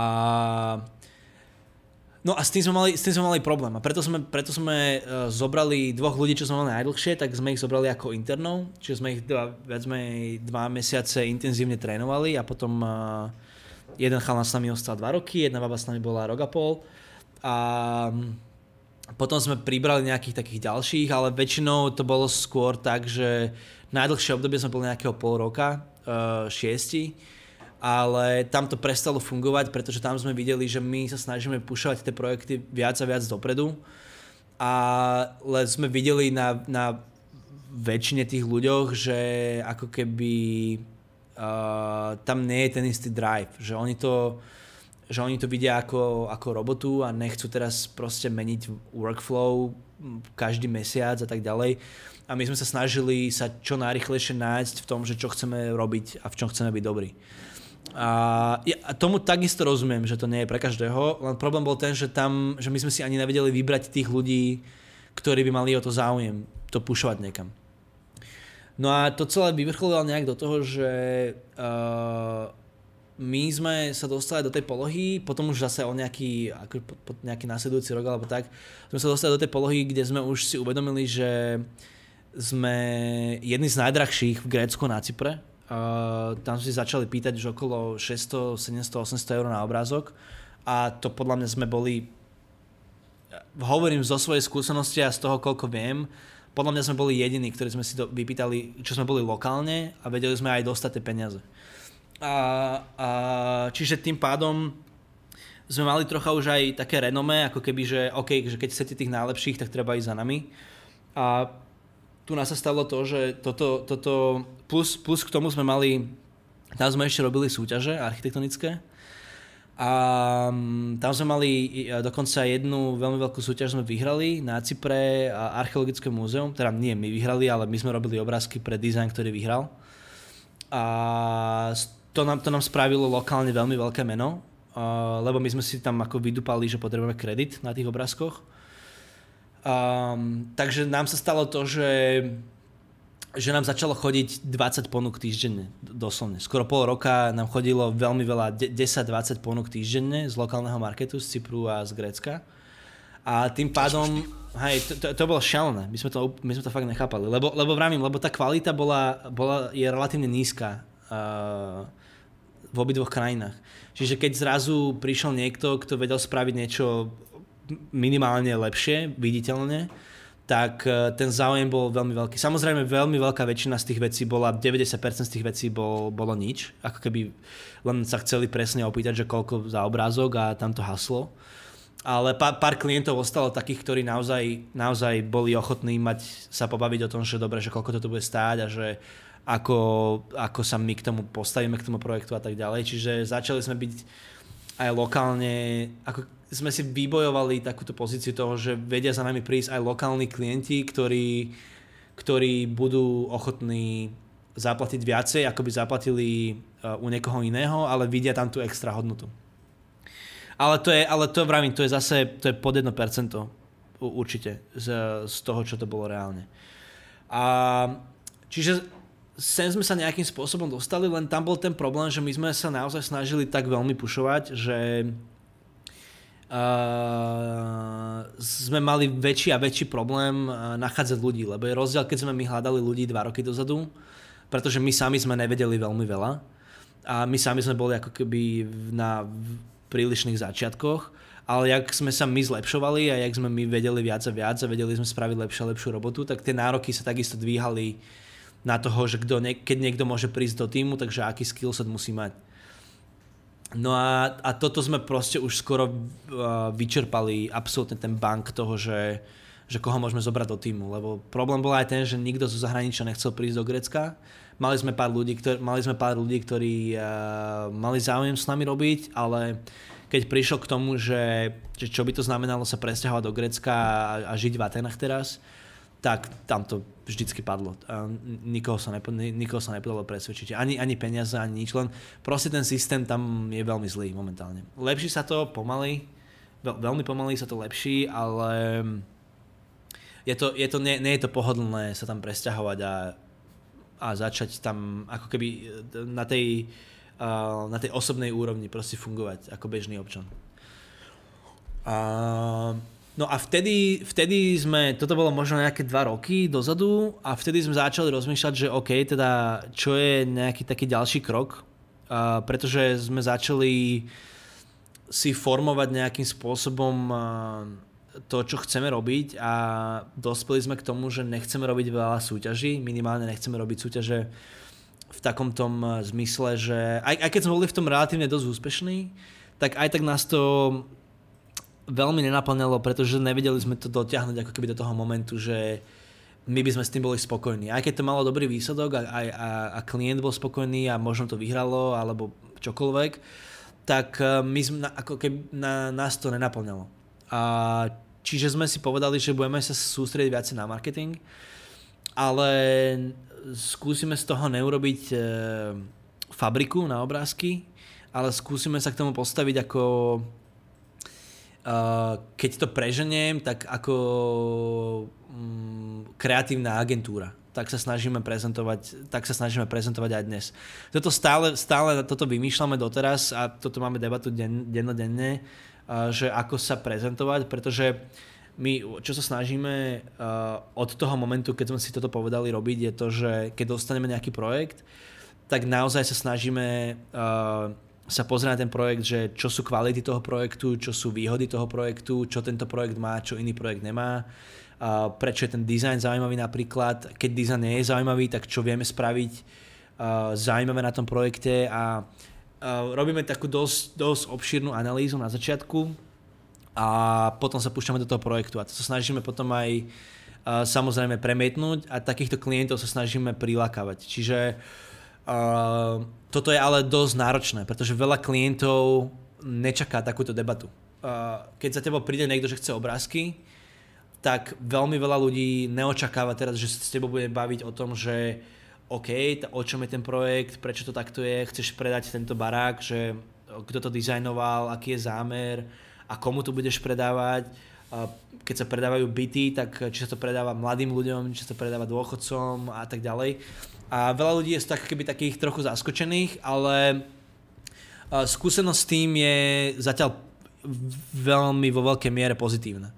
no a s tým sme mali, s tým sme mali problém. A preto sme, preto sme uh, zobrali dvoch ľudí, čo sme mali najdlhšie, tak sme ich zobrali ako internov. Čiže sme ich dva, viac menej dva mesiace intenzívne trénovali a potom uh, jeden chalan s nami ostal dva roky, jedna baba s nami bola rok a pol. A potom sme pribrali nejakých takých ďalších, ale väčšinou to bolo skôr tak, že najdlhšie obdobie sme boli nejakého pol roka, Uh, šiesti, ale tam to prestalo fungovať, pretože tam sme videli, že my sa snažíme pušovať tie projekty viac a viac dopredu, ale sme videli na, na väčšine tých ľuďoch, že ako keby uh, tam nie je ten istý drive, že oni to, že oni to vidia ako, ako robotu a nechcú teraz proste meniť workflow každý mesiac a tak ďalej. A my sme sa snažili sa čo najrýchlejšie nájsť v tom, že čo chceme robiť a v čom chceme byť dobrí. A ja tomu takisto rozumiem, že to nie je pre každého, len problém bol ten, že tam, že my sme si ani nevedeli vybrať tých ľudí, ktorí by mali o to záujem, to pušovať niekam. No a to celé vyvrcholilo nejak do toho, že uh, my sme sa dostali do tej polohy, potom už zase o nejaký, ako, po, po nejaký následujúci rok alebo tak, sme sa dostali do tej polohy, kde sme už si uvedomili, že sme jedni z najdrahších v Grécku na Cypre. Uh, tam sme si začali pýtať už okolo šesťsto, sedemsto, osemsto eur na obrázok a to podľa mňa sme boli, hovorím zo svojej skúsenosti a z toho, koľko viem, podľa mňa sme boli jediní, ktorí sme si to vypýtali, čo sme boli lokálne a vedeli sme aj dostať tie peniaze. A, a, čiže tým pádom sme mali trocha už aj také renomé, ako keby, že OK, že keď chcete tých najlepších, tak treba ísť za nami. A tu nás sa stalo to, že toto, toto plus, plus k tomu sme mali, tam sme ešte robili súťaže architektonické a tam sme mali dokonca jednu veľmi veľkú súťaž sme vyhrali na Cypre, Archeologické múzeum, teda nie my vyhrali, ale my sme robili obrázky pre design, ktorý vyhral. A to nám, to nám spravilo lokálne veľmi veľké meno, lebo my sme si tam ako vydupali, že potrebujeme kredit na tých obrázkoch. Um, takže nám sa stalo to, že, že nám začalo chodiť dvadsať ponúk týždenne, doslovne. Skoro pol roka nám chodilo veľmi veľa, desať dvadsať ponúk týždenne z lokálneho marketu, z Cypru a z Grécka. A tým pádom, hej, to, to, to bolo šialené, my sme to, my sme to fakt nechápali, lebo, lebo vravím, lebo tá kvalita bola, bola, je relatívne nízka uh, v obidvoch krajinách. Čiže keď zrazu prišiel niekto, kto vedel spraviť niečo minimálne lepšie, viditeľne, tak ten záujem bol veľmi veľký. Samozrejme, veľmi veľká väčšina z tých vecí bola, deväťdesiat percent z tých vecí bol, bolo nič. Ako keby len sa chceli presne opýtať, že koľko za obrázok a tam to haslo. Ale pár, pár klientov ostalo takých, ktorí naozaj, naozaj boli ochotní mať, sa pobaviť o tom, že dobre, že koľko to bude stáť a že ako, ako sa my k tomu postavíme, k tomu projektu a tak ďalej. Čiže začali sme byť aj lokálne, ako sme si vybojovali takúto pozíciu toho, že vedia za nami prísť aj lokálni klienti, ktorí, ktorí budú ochotní zaplatiť viacej, ako by zaplatili u niekoho iného, ale vidia tam tú extra hodnotu. Ale to je, ale to vravím, to je zase, to je pod jedno percento určite z, z toho, čo to bolo reálne. A čiže sem sme sa nejakým spôsobom dostali, len tam bol ten problém, že my sme sa naozaj snažili tak veľmi pušovať, že Uh, sme mali väčší a väčší problém uh, nachádzať ľudí, lebo je rozdiel, keď sme my hľadali ľudí dva roky dozadu, pretože my sami sme nevedeli veľmi veľa a my sami sme boli ako keby na prílišných začiatkoch, ale jak sme sa my zlepšovali a jak sme my vedeli viac a viac a vedeli sme spraviť lepšiu a lepšiu robotu, tak tie nároky sa takisto dvíhali na toho, že kdo, keď niekto môže prísť do týmu, takže aký skillset musí mať. No a, a toto sme proste už skoro uh, vyčerpali absolútne ten bank toho, že, že koho môžeme zobrať do týmu, lebo problém bol aj ten, že nikto zo zahraničia nechcel prísť do Grécka. Mali sme pár ľudí, ktorí, mali sme pár ľudí, ktorí uh, mali záujem s nami robiť, ale keď prišlo k tomu, že, že čo by to znamenalo sa presťahovať do Grécka a, a žiť v Atenách teraz, tak tam to vždycky padlo. Nikoho sa, nepo, nikoho sa nepodalo presvedčiť. Ani, ani peniaze, ani nič. Len proste ten systém tam je veľmi zlý momentálne. Lepší sa to pomaly, veľ, veľmi pomaly sa to lepší, ale je to, je to, nie, nie je to pohodlné sa tam presťahovať a, a začať tam ako keby na tej, na tej osobnej úrovni proste fungovať ako bežný občan. A No a vtedy, vtedy sme, toto bolo možno nejaké dva roky dozadu a vtedy sme začali rozmýšľať, že OK, teda čo je nejaký taký ďalší krok, uh, pretože sme začali si formovať nejakým spôsobom uh, to, čo chceme robiť a dospeli sme k tomu, že nechceme robiť veľa súťaží, minimálne nechceme robiť súťaže v takom tom zmysle, že aj, aj keď sme boli v tom relatívne dosť úspešní, tak aj tak nás to veľmi nenaplňalo, pretože nevedeli sme to dotiahnuť ako keby do toho momentu, že my by sme s tým boli spokojní. Aj keď to malo dobrý výsledok a, a, a klient bol spokojný a možno to vyhralo alebo čokoľvek, tak my sme, ako keby na, nás to nenaplňalo. A čiže sme si povedali, že budeme sa sústrediť viac na marketing, ale skúsime z toho neurobiť e, fabriku na obrázky, ale skúsime sa k tomu postaviť ako Uh, keď to preženiem, tak ako um, kreatívna agentúra. Tak sa snažíme prezentovať, tak sa snažíme prezentovať aj dnes. Toto stále, stále toto vymýšľame doteraz a toto máme debatu den, dennodenne, uh, že ako sa prezentovať, pretože my, čo sa snažíme uh, od toho momentu, keď sme si toto povedali robiť, je to, že keď dostaneme nejaký projekt, tak naozaj sa snažíme uh, sa pozrieť na ten projekt, že čo sú kvality toho projektu, čo sú výhody toho projektu, čo tento projekt má, čo iný projekt nemá, a prečo je ten dizajn zaujímavý napríklad, keď dizajn nie je zaujímavý, tak čo vieme spraviť uh, zaujímavé na tom projekte a uh, robíme takú dosť, dosť obšírnu analýzu na začiatku a potom sa púšťame do toho projektu a to sa snažíme potom aj uh, samozrejme premietnúť a takýchto klientov sa snažíme prilákavať. Čiže uh, toto je ale dosť náročné, pretože veľa klientov nečaká takúto debatu. Uh, keď za tebou príde niekto, že chce obrázky, tak veľmi veľa ľudí neočakáva teraz, že sa s tebou bude baviť o tom, že OK, o čom je ten projekt, prečo to takto je, chceš predať tento barák, že kto to dizajnoval, aký je zámer a komu to budeš predávať. Keď sa predávajú byty, tak či sa to predáva mladým ľuďom, či sa to predáva dôchodcom a tak ďalej. A veľa ľudí je tak, keby takých trochu zaskočených, ale skúsenosť s tým je zatiaľ veľmi vo veľkej miere pozitívna.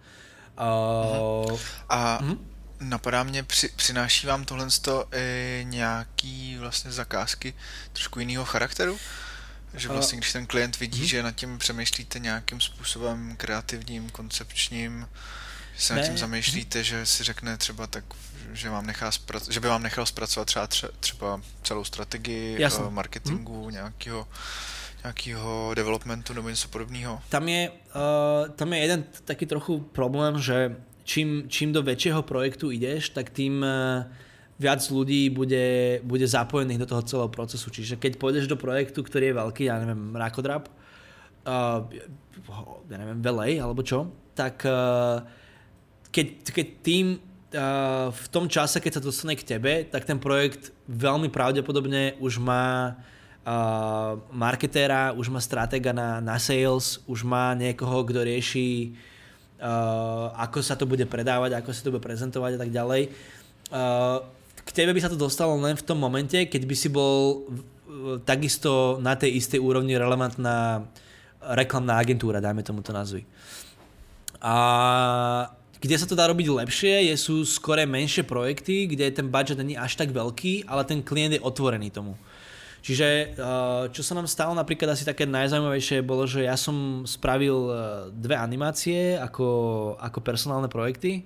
Uh, a uh-huh. Napadá mě, při, přináší vám tohle i nějaký vlastně zakázky trošku jiného charakteru? Že vlastně, když ten klient vidí, uh, že nad tím přemýšlíte nějakým způsobem kreativním, koncepčním, že se nad tím zamýšlíte, že si řekne třeba tak, že, vám nechá zprac- že by vám nechal zpracovat třeba, třeba celou strategii Jasne. marketingu, uh, nějakého nějakého developmentu nebo něco podobného? Tam je, uh, tam je jeden taký trochu problém, že čím, čím do väčšieho projektu ideš, tak tým uh, viac ľudí bude, bude zapojených do toho celého procesu. Čiže keď pôjdeš do projektu, ktorý je veľký, ja neviem, Rakodrap, uh, ja neviem, Velej alebo čo, tak uh, keď, keď tým uh, v tom čase, keď sa dostane k tebe, tak ten projekt veľmi pravdepodobne už má Uh, marketéra, už má stratéga na, na sales, už má niekoho, kto rieši uh, ako sa to bude predávať, ako sa to bude prezentovať a tak ďalej. Uh, k tebe by sa to dostalo len v tom momente, keď by si bol uh, takisto na tej istej úrovni relevantná reklamná agentúra, dajme tomuto názvy. A kde sa to dá robiť lepšie, je, sú skôr menšie projekty, kde ten budget není až tak veľký, ale ten klient je otvorený tomu. Čiže čo sa nám stalo napríklad asi také najzaujímavejšie bolo, že ja som spravil dve animácie ako, ako personálne projekty.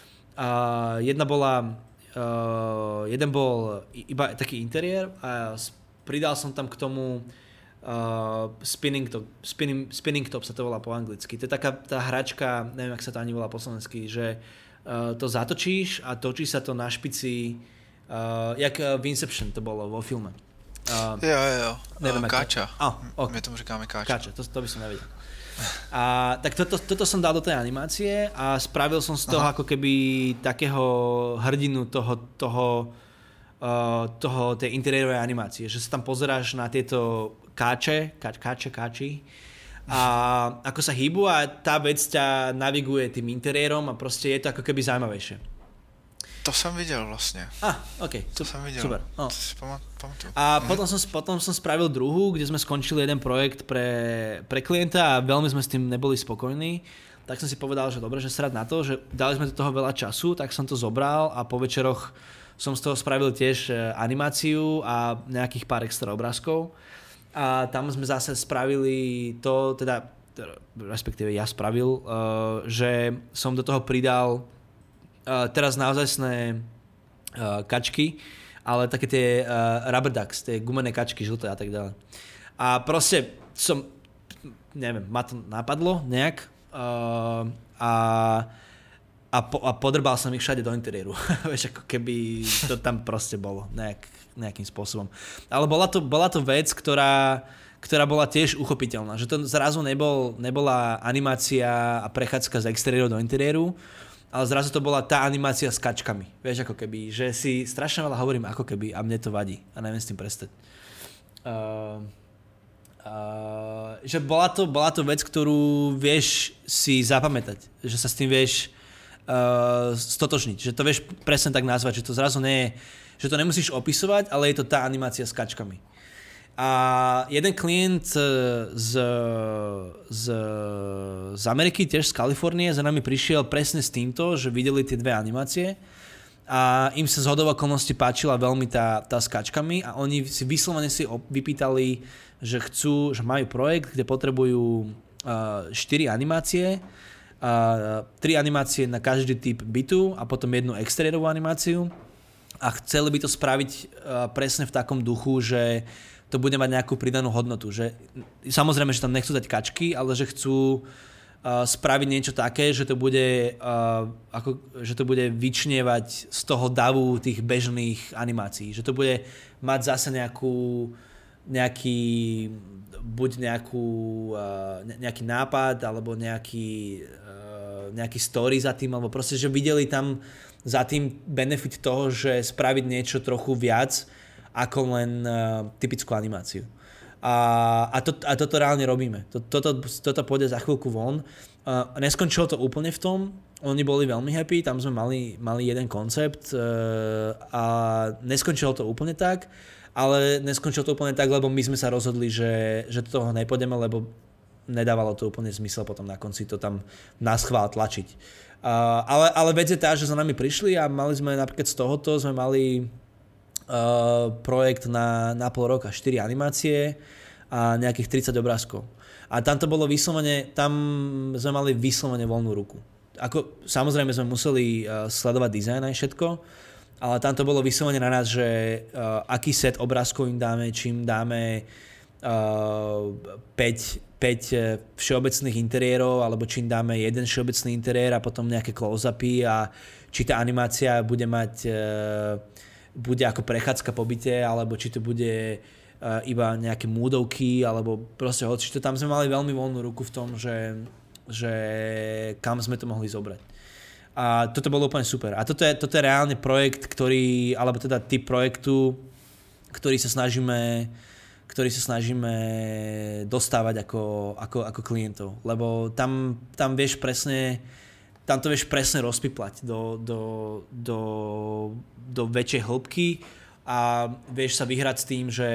A jedna bola, jeden bol iba taký interiér a pridal som tam k tomu spinning top, spinning, spinning top sa to volá po anglicky. To je taká tá hračka, neviem, ak sa to ani volá po slovensky, že to zatočíš a točí sa to na špici, jak v Inception to bolo vo filme. Uh, jo, jo, jo. Neviem, káča. Oh, okay. My tomu říkáme káča. Káča, to, to by som nevedel. A tak toto, toto som dal do tej animácie a spravil som z toho Aha. ako keby takého hrdinu toho, toho, uh, toho tej interiérovej animácie, že sa tam pozeráš na tieto káče, káč, káče, káči a ako sa hýbu a tá vec ťa naviguje tým interiérom a proste je to ako keby zaujímavejšie. To som videl vlastne. Ah, ok, to som videl. Super. Oh. To si pamatuju. A mhm. potom, som, potom som spravil druhú, kde sme skončili jeden projekt pre, pre klienta a veľmi sme s tým neboli spokojní. Tak som si povedal, že dobre, že srad na to, že dali sme do toho veľa času, tak som to zobral a po večeroch som z toho spravil tiež animáciu a nejakých pár extra obrázkov. A tam sme zase spravili to, teda, respektíve ja spravil, uh, že som do toho pridal Uh, teraz naozajstné uh, kačky, ale také tie uh, rubber ducks, tie gumené kačky, žlté a tak ďalej. A proste som, neviem, ma to napadlo nejak uh, a, a, po, a podrbal som ich všade do interiéru. Vieš, ako keby to tam proste bolo nejak, nejakým spôsobom. Ale bola to, bola to vec, ktorá, ktorá bola tiež uchopiteľná. Že to zrazu nebol, nebola animácia a prechádzka z exteriéru do interiéru, ale zrazu to bola tá animácia s kačkami. Vieš, ako keby, že si strašne veľa hovorím ako keby a mne to vadí a neviem s tým prestať. Uh, uh, že bola to, bola to vec, ktorú vieš si zapamätať, že sa s tým vieš uh, stotožniť, že to vieš presne tak nazvať, že to zrazu nie je, že to nemusíš opisovať, ale je to tá animácia s kačkami. A jeden klient z, z, z Ameriky, tiež z Kalifornie, za nami prišiel presne s týmto, že videli tie dve animácie a im sa z hodou okolností páčila veľmi tá, tá s kačkami a oni si vyslovene si vypýtali, že chcú, že majú projekt, kde potrebujú štyri uh, animácie, tri uh, animácie na každý typ bytu a potom jednu exteriérovú animáciu a chceli by to spraviť uh, presne v takom duchu, že to bude mať nejakú pridanú hodnotu. Že, samozrejme, že tam nechcú dať kačky, ale že chcú uh, spraviť niečo také, že to bude, uh, ako, že to bude vyčnievať z toho davu tých bežných animácií. Že to bude mať zase nejakú, nejaký, buď nejakú, uh, nejaký nápad, alebo nejaký, uh, nejaký story za tým, alebo proste, že videli tam za tým benefit toho, že spraviť niečo trochu viac, ako len uh, typickú animáciu. A, a, to, a toto reálne robíme. Toto, toto pôjde za chvíľku von. Uh, neskončilo to úplne v tom. Oni boli veľmi happy, tam sme mali, mali jeden koncept uh, a neskončilo to úplne tak, ale neskončilo to úplne tak, lebo my sme sa rozhodli, že, že do toho nepôjdeme, lebo nedávalo to úplne zmysel potom na konci to tam naschvál tlačiť. Uh, ale, ale vec je tá, že za nami prišli a mali sme napríklad z tohoto, sme mali Uh, projekt na, na pol roka, štyri animácie a nejakých tridsať obrázkov. A tam to bolo vyslovene, tam sme mali vyslovene voľnú ruku. Ako, samozrejme sme museli uh, sledovať dizajn aj všetko, ale tam to bolo vyslovene na nás, že uh, aký set obrázkov im dáme, čím dáme uh, päť, päť všeobecných interiérov, alebo čím dáme jeden všeobecný interiér a potom nejaké close-upy a či tá animácia bude mať uh, bude ako prechádzka po byte, alebo či to bude uh, iba nejaké múdovky, alebo proste hoci. Tam sme mali veľmi voľnú ruku v tom, že, že kam sme to mohli zobrať. A toto bolo úplne super. A toto je, toto je reálne projekt, ktorý, alebo teda typ projektu, ktorý sa snažíme, ktorý sa snažíme dostávať ako, ako, ako klientov. Lebo tam, tam vieš presne tam to vieš presne rozpiplať do, do, do, do väčšej hĺbky a vieš sa vyhrať s tým, že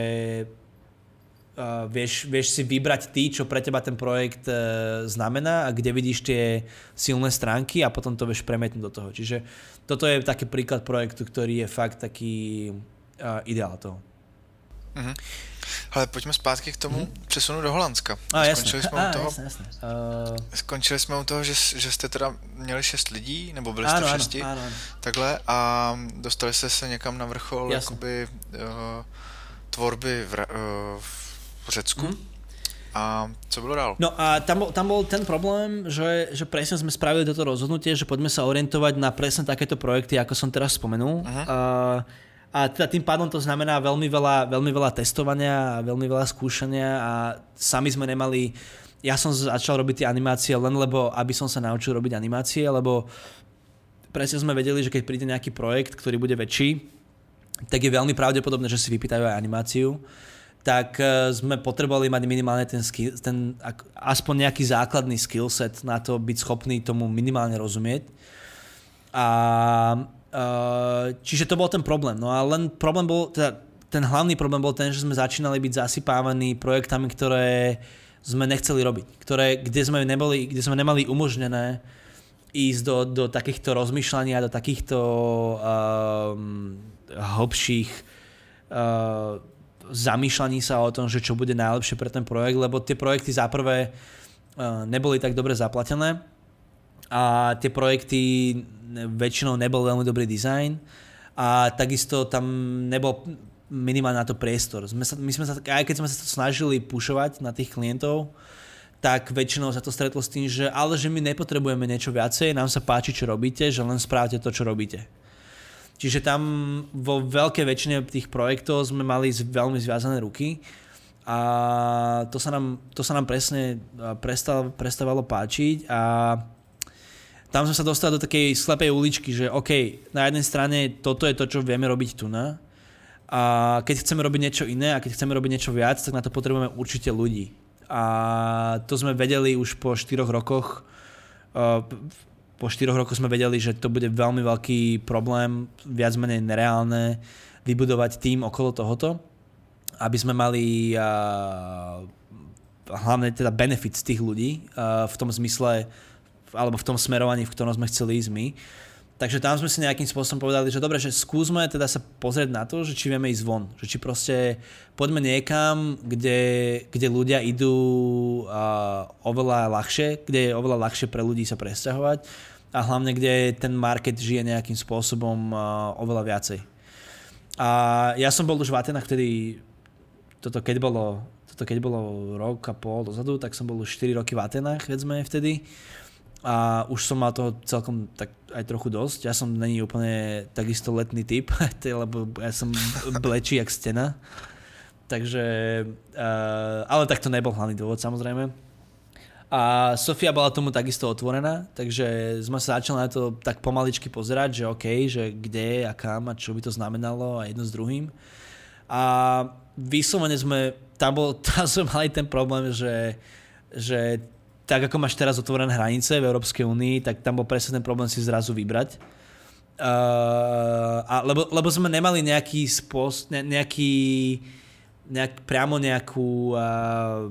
uh, vieš, vieš si vybrať ty, čo pre teba ten projekt uh, znamená a kde vidíš tie silné stránky a potom to vieš premietnúť do toho. Čiže toto je taký príklad projektu, ktorý je fakt taký uh, ideál toho. Mhm. Ale pojďme zpátky k tomu mm-hmm. přesunu do Holandska. A, skončili jsme a, u toho, jasne, jasne. Uh... Skončili jsme u toho, že, že jste teda měli šest lidí, nebo byli áno, jste v šesti, áno, áno. takhle, a dostali jste se někam na vrchol jakoby, uh, tvorby v, uh, v Řecku. Mm. A co bylo dál? No a tam bol, tam bol ten problém, že, že presne sme spravili toto rozhodnutie, že poďme sa orientovať na presne takéto projekty, ako som teraz spomenul. Uh-huh. Uh, A teda tým pádom to znamená veľmi veľa, veľmi veľa testovania a veľmi veľa skúšania a sami sme nemali... Ja som začal robiť tie animácie len lebo, aby som sa naučil robiť animácie, lebo presne sme vedeli, že keď príde nejaký projekt, ktorý bude väčší, tak je veľmi pravdepodobné, že si vypýtajú aj animáciu. Tak sme potrebovali mať minimálne ten, skill, ten aspoň nejaký základný skillset na to byť schopný tomu minimálne rozumieť. A... Uh, čiže to bol ten problém. No a len problém bol, teda ten hlavný problém bol ten, že sme začínali byť zasypávaní projektami, ktoré sme nechceli robiť. Ktoré, kde sme neboli, kde sme nemali umožnené ísť do, do takýchto rozmýšľaní a do takýchto um, hlbších uh, zamýšľaní sa o tom, že čo bude najlepšie pre ten projekt, lebo tie projekty za prvé uh, neboli tak dobre zaplatené a tie projekty väčšinou nebol veľmi dobrý dizajn a takisto tam nebol minimálne na to priestor. Sme sa, my sme sa, aj keď sme sa to snažili pušovať na tých klientov, tak väčšinou sa to stretlo s tým, že ale že my nepotrebujeme niečo viacej, nám sa páči, čo robíte, že len správte to, čo robíte. Čiže tam vo veľkej väčšine tých projektov sme mali veľmi zviazané ruky a to sa nám, to sa nám presne prestal, prestávalo páčiť a tam sme sa dostali do takej slepej uličky, že OK, na jednej strane toto je to, čo vieme robiť tu na. A keď chceme robiť niečo iné a keď chceme robiť niečo viac, tak na to potrebujeme určite ľudí. A to sme vedeli už po štyroch rokoch. Po štyroch rokoch sme vedeli, že to bude veľmi veľký problém, viac menej nereálne, vybudovať tým okolo tohoto, aby sme mali hlavne teda benefit z tých ľudí v tom zmysle, alebo v tom smerovaní, v ktorom sme chceli ísť my. Takže tam sme si nejakým spôsobom povedali, že dobre, že skúsme teda sa pozrieť na to, že či vieme ísť von. Že či proste poďme niekam, kde, kde ľudia idú uh, oveľa ľahšie, kde je oveľa ľahšie pre ľudí sa presťahovať a hlavne, kde ten market žije nejakým spôsobom uh, oveľa viacej. A ja som bol už v Atenách vtedy toto keď bolo, toto keď bolo rok a pol dozadu, tak som bol už štyri roky v Atenách, viac menej vtedy. A už som mal toho celkom tak aj trochu dosť. Ja som není úplne takisto letný typ, lebo ja som blečí jak stena. Takže, uh, ale tak to nebol hlavný dôvod samozrejme. A Sofia bola tomu takisto otvorená, takže sme sa začali na to tak pomaličky pozerať, že OK, že kde a kam a čo by to znamenalo a jedno s druhým. A vyslovene sme, tam, bol, tam sme mali ten problém, že, že tak ako máš teraz otvorené hranice v Európskej únii, tak tam bol presne ten problém si zrazu vybrať. Uh, a lebo, lebo sme nemali nejaký spôsob, ne, nejaký, nejak, priamo nejakú, uh,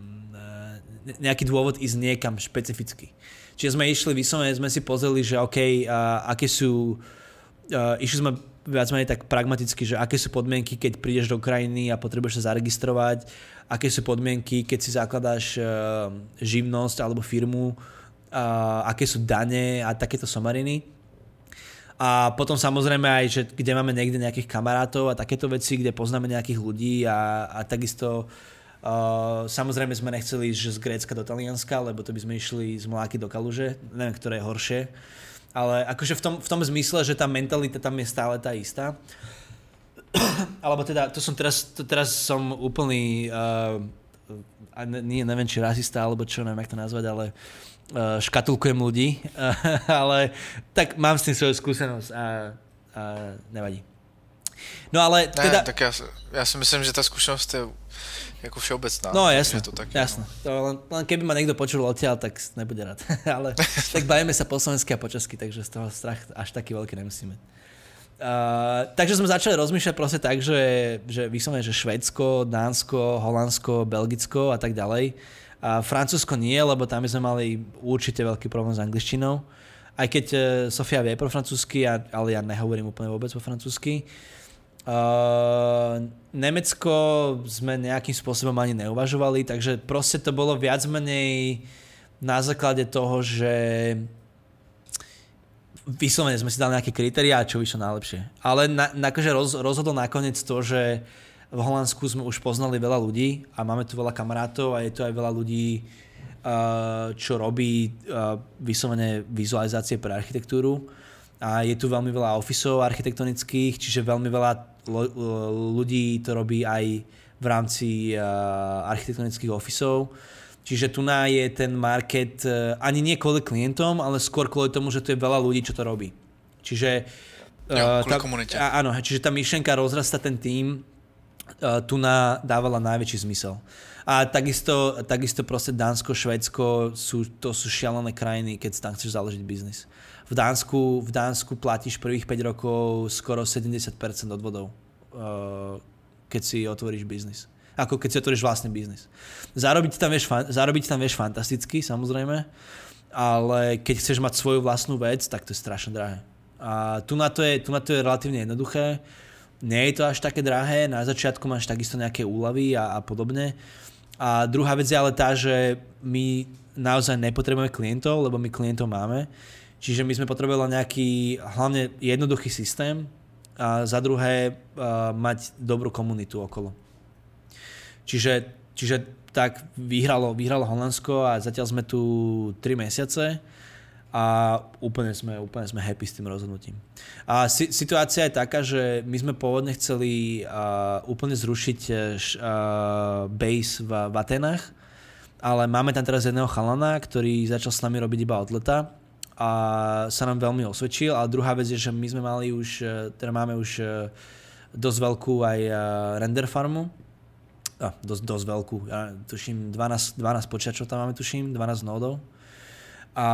nejaký dôvod ísť niekam špecificky. Čiže sme išli vyslovene, sme si pozreli, že OK, uh, aké sú, uh, išli sme viac menej tak pragmaticky, že aké sú podmienky, keď prídeš do krajiny a potrebuješ sa zaregistrovať, aké sú podmienky, keď si zakladáš uh, živnosť alebo firmu, uh, aké sú dane a takéto somariny. A potom samozrejme aj, že kde máme niekde nejakých kamarátov a takéto veci, kde poznáme nejakých ľudí a, a takisto uh, samozrejme sme nechceli ísť z Grécka do Talianska, lebo to by sme išli z Mláky do Kaluže, neviem, ktoré je horšie. Ale akože v tom, v tom zmysle, že tá mentalita tam je stále tá istá. Alebo teda, to som teraz, to teraz som úplný, uh, nie, neviem, či rasista, alebo čo, neviem, jak to nazvať, ale uh, škatulkujem ľudí. Uh, ale tak mám s tým svoju skúsenosť a, a nevadí. No ale teda... Ne, tak ja, ja si myslím, že tá skúsenosť je ako všeobecná. No jasné, to tak, jasné. No. To len, len keby ma niekto počul odtiaľ, tak nebude rád. Ale tak bavíme sa po slovensky a po česky, takže z toho strach až taký veľký nemusíme. Uh, takže sme začali rozmýšľať proste tak, že, že vyslovene, že Švédsko, Dánsko, Holandsko, Belgicko a tak ďalej. A Francúzsko nie, lebo tam sme mali určite veľký problém s angličtinou. Aj keď uh, Sofia vie po francúzsky, ale ja nehovorím úplne vôbec po francúzsky. Uh, Nemecko sme nejakým spôsobom ani neuvažovali, takže proste to bolo viac menej na základe toho, že vyslovene sme si dali nejaké kritériá, čo vyšlo najlepšie. Ale na, na, akože roz, rozhodol nakoniec to, že v Holandsku sme už poznali veľa ľudí a máme tu veľa kamarátov a je tu aj veľa ľudí, uh, čo robí uh, vyslovene vizualizácie pre architektúru. A je tu veľmi veľa officeov architektonických, čiže veľmi veľa ľudí to robí aj v rámci uh, architektonických officeov. Čiže tu je ten market uh, ani nie kvôli klientom, ale skôr kvôli tomu, že tu je veľa ľudí, čo to robí. Čiže, uh, ja, tá, a, áno, čiže tá myšlenka rozrasta ten tím, uh, tu dávala najväčší zmysel. A takisto, takisto proste Dánsko, Švédsko, sú, to sú šialené krajiny, keď si tam chceš založiť biznis. V Dánsku, v Dánsku platíš prvých päť rokov skoro sedemdesiat percent odvodov, keď si otvoríš biznis. Ako keď si otvoríš vlastný biznis. Zarobiť tam vieš, zarobiť tam vieš fantasticky, samozrejme, ale keď chceš mať svoju vlastnú vec, tak to je strašne drahé. A tu na to je, tu na to je relatívne jednoduché. Nie je to až také drahé, na začiatku máš takisto nejaké úľavy a, a podobne. A druhá vec je ale tá, že my naozaj nepotrebujeme klientov, lebo my klientov máme. Čiže my sme potrebovali nejaký hlavne jednoduchý systém a za druhé uh, mať dobrú komunitu okolo. Čiže, čiže tak vyhralo, vyhralo Holandsko a zatiaľ sme tu tri mesiace a úplne sme, úplne sme happy s tým rozhodnutím. A si, situácia je taká, že my sme pôvodne chceli uh, úplne zrušiť uh, base v, v Atenách, ale máme tam teraz jedného chalana, ktorý začal s nami robiť iba od leta a sa nám veľmi osvedčil. A druhá vec je, že my sme mali už, teda máme už dosť veľkú aj render farmu. A, dosť, dosť veľkú. Ja tuším dvanásť, dvanásť počítačov tam máme, tuším, dvanásť nódov. A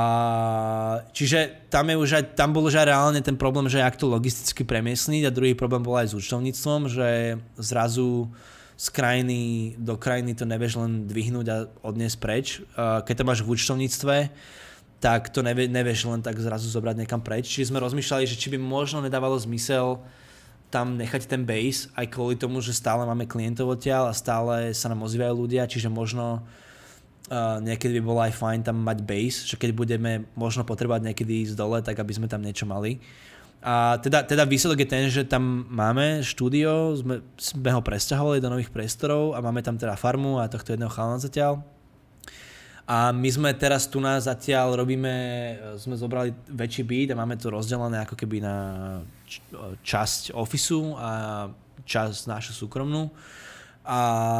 čiže tam, je už aj, tam bol už aj reálne ten problém, že jak to logisticky premiesniť, a druhý problém bol aj s účtovníctvom, že zrazu z krajiny do krajiny to nevieš len dvihnúť a odniesť preč. Keď to máš v účtovníctve, tak to nevie, nevieš len tak zrazu zobrať niekam preč. Čiže sme rozmýšľali, že či by možno nedávalo zmysel tam nechať ten base, aj kvôli tomu, že stále máme klientov odtiaľ a stále sa nám ozývajú ľudia, čiže možno uh, niekedy by bolo aj fajn tam mať base, že keď budeme možno potrebovať niekedy ísť dole, tak aby sme tam niečo mali. A teda, teda výsledok je ten, že tam máme štúdio, sme, sme ho presťahovali do nových priestorov a máme tam teda farmu a tohto jedného chalana zatiaľ. A my sme teraz tu nás zatiaľ robíme, sme zobrali väčší byt a máme to rozdelené ako keby na časť ofisu a časť našu súkromnú. A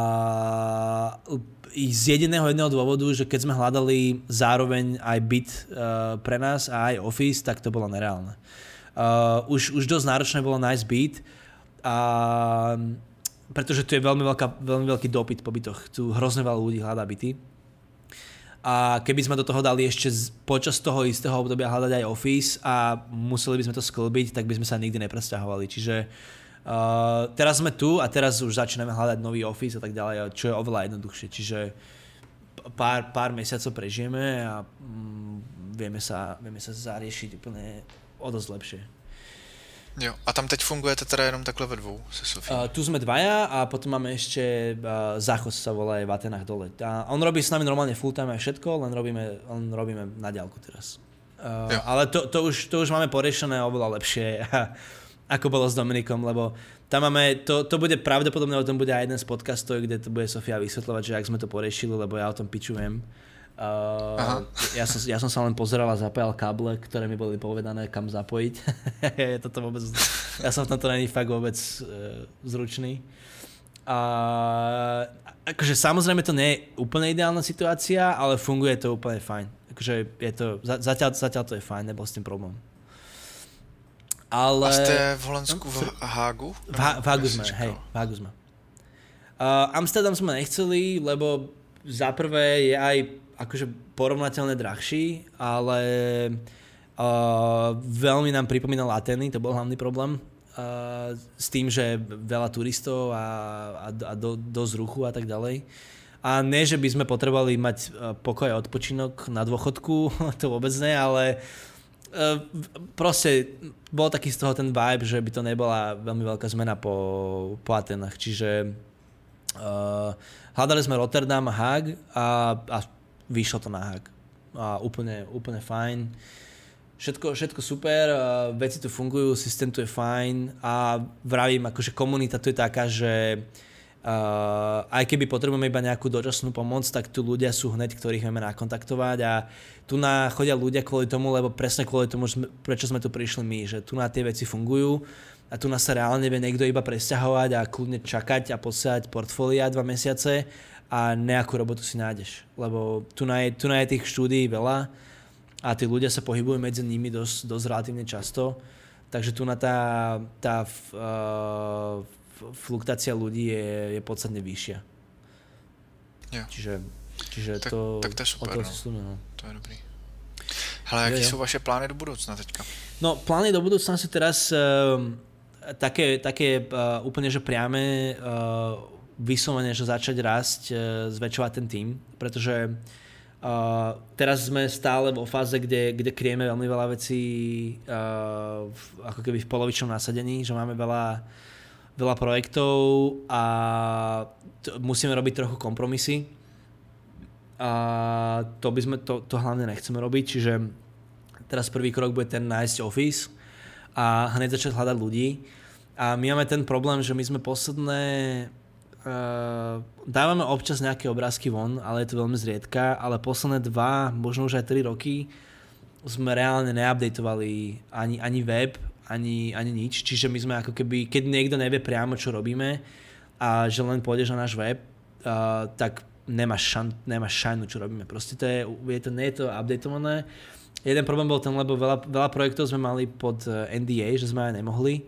z jediného jedného dôvodu, že keď sme hľadali zároveň aj byt uh, pre nás a aj office, tak to bolo nereálne. Uh, už, už dosť náročné bolo nájsť byt, a, pretože tu je veľmi, veľká, veľmi veľký dopyt po bytoch. Tu hrozne veľa ľudí hľadá byty. A keby sme do toho dali ešte z, počas toho istého obdobia hľadať aj office a museli by sme to sklbiť, tak by sme sa nikdy nepresťahovali. Čiže Uh, teraz sme tu a teraz už začíname hľadať nový office a tak ďalej, čo je oveľa jednoduchšie. Čiže pár, pár mesiacov prežijeme a mm, vieme, sa, vieme sa zariešiť úplne o dosť lepšie. Jo, a tam teď fungujete teda jenom takhle ve dvou se Sofí? Uh, tu sme dvaja a potom máme ešte uh, Záchod sa volá v Atenách dole. A on robí s nami normálne full time a všetko, len robíme, len robíme na diaľku teraz. Uh, ale to, to, už, to už máme poriešené oveľa lepšie. Ako bolo s Dominikom, lebo tam máme, to, to bude pravdepodobne, o tom bude aj jeden z podcastov, kde to bude Sofia vysvetľovať, že ak sme to poriešili, lebo ja o tom pičujem. Uh, ja, som, ja som sa len pozeral a zapájal káble, ktoré mi boli povedané, kam zapojiť. Toto vôbec, ja som v tomto není fakt vôbec uh, zručný. Uh, akože samozrejme to nie je úplne ideálna situácia, ale funguje to úplne fajn. Akože je to, zatiaľ, zatiaľ to je fajn, nebol s tým problém. Ale... A ste v Holandsku v Hágu? V, ha- v Hágu sme, hej, v Hágu sme. Uh, Amsterdam sme nechceli, lebo za prvé je aj akože porovnateľne drahší, ale uh, veľmi nám pripomínal Ateny, to bol hlavný problém. Uh, s tým, že veľa turistov a, a, a do, dosť ruchu a tak ďalej. A nie, že by sme potrebovali mať pokoj a odpočinok na dôchodku, to vôbec nie, ale uh, proste bol taký z toho ten vibe, že by to nebola veľmi veľká zmena po, po Atenách. Čiže uh, hľadali sme Rotterdam a Haag a, a vyšlo to na Haag. A úplne, úplne fajn. Všetko, všetko super, uh, veci tu fungujú, systém tu je fajn a vravím, akože komunita tu je taká, že uh, aj keby potrebujeme iba nejakú dočasnú pomoc, tak tu ľudia sú hneď, ktorých vieme nakontaktovať a tu na chodia ľudia kvôli tomu, lebo presne kvôli tomu, prečo sme tu prišli my, že tu na tie veci fungujú a tu nás sa reálne vie niekto iba presťahovať a kľudne čakať a posielať portfólia dva mesiace a nejakú robotu si nájdeš, lebo tu na je, tu na je tých štúdií veľa a tí ľudia sa pohybujú medzi nimi dosť, dosť relatívne často, takže tu na tá, tá uh, fluktuácia ľudí je, je podstatne vyššia. Jo. Čiže, čiže tak, to... Tak to je super, no. Slúme, no. To je dobrý. Hele, jaký jo, jo. sú vaše plány do budúcna teďka? No, plány do budúcna sú teraz uh, také, také uh, úplne, že priame uh, vyslovene, že začať rásť, uh, zväčšovať ten tím, pretože Uh, teraz sme stále vo fáze, kde, kde kryjeme veľmi veľa vecí uh, v, ako keby v polovičnom nasadení, že máme veľa, veľa projektov a t- musíme robiť trochu kompromisy. A to by sme, to, to hlavne nechceme robiť, čiže teraz prvý krok bude ten nájsť office a hneď začať hľadať ľudí. A my máme ten problém, že my sme posledné Uh, dávame občas nejaké obrázky von, ale je to veľmi zriedka, ale posledné dva, možno už aj tri roky sme reálne neupdateovali ani, ani web, ani, ani nič, čiže my sme ako keby, keď niekto nevie priamo, čo robíme a že len pôjdeš na náš web, uh, tak nemáš, šan, nemáš šajnu, čo robíme. Proste to je, je to, nie je to updateované. Jeden problém bol ten, lebo veľa, veľa projektov sme mali pod N D A, že sme aj nemohli,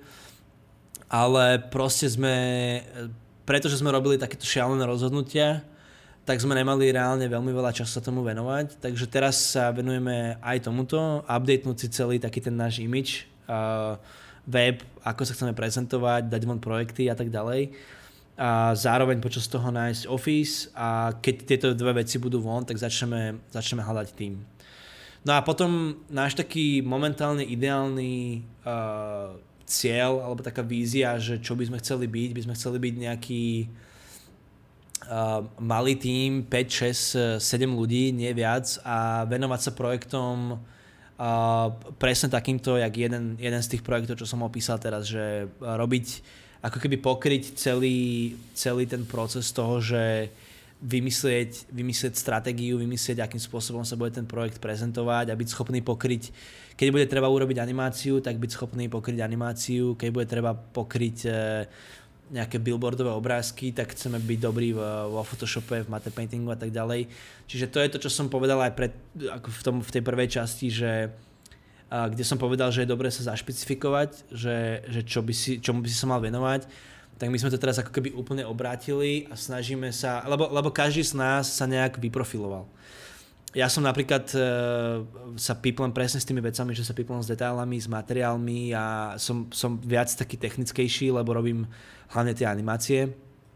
ale proste sme... Pretože sme robili takéto šialené rozhodnutia, tak sme nemali reálne veľmi veľa času sa tomu venovať. Takže teraz sa venujeme aj tomuto, updatenúť si celý taký ten náš image, uh, web, ako sa chceme prezentovať, dať von projekty a tak ďalej. A zároveň počas toho nájsť office a keď tieto dve veci budú von, tak začneme, začneme hľadať tým. No a potom náš taký momentálne ideálny uh, cieľ, alebo taká vízia, že čo by sme chceli byť, by sme chceli byť nejaký uh, malý tím, päť, šesť, sedem ľudí, nie viac a venovať sa projektom Uh, presne takýmto, jak jeden, jeden z tých projektov, čo som opísal teraz, že robiť, ako keby pokryť celý, celý ten proces toho, že vymyslieť, vymyslieť stratégiu, vymyslieť, akým spôsobom sa bude ten projekt prezentovať a byť schopný pokryť, keď bude treba urobiť animáciu, tak byť schopný pokryť animáciu, keď bude treba pokryť e, nejaké billboardové obrázky, tak chceme byť dobrí vo Photoshope, v matte paintingu a tak ďalej. Čiže to je to, čo som povedal aj pred, ako v, tom, v tej prvej časti, že a, kde som povedal, že je dobré sa zašpecifikovať, že, že čo by si, čomu by si sa mal venovať, tak my sme to teraz ako keby úplne obrátili a snažíme sa, lebo, lebo každý z nás sa nejak vyprofiloval. Ja som napríklad e, sa píplem presne s tými vecami, že sa píplem s detailami, s materiálmi a som, som viac taký technickejší, lebo robím hlavne tie animácie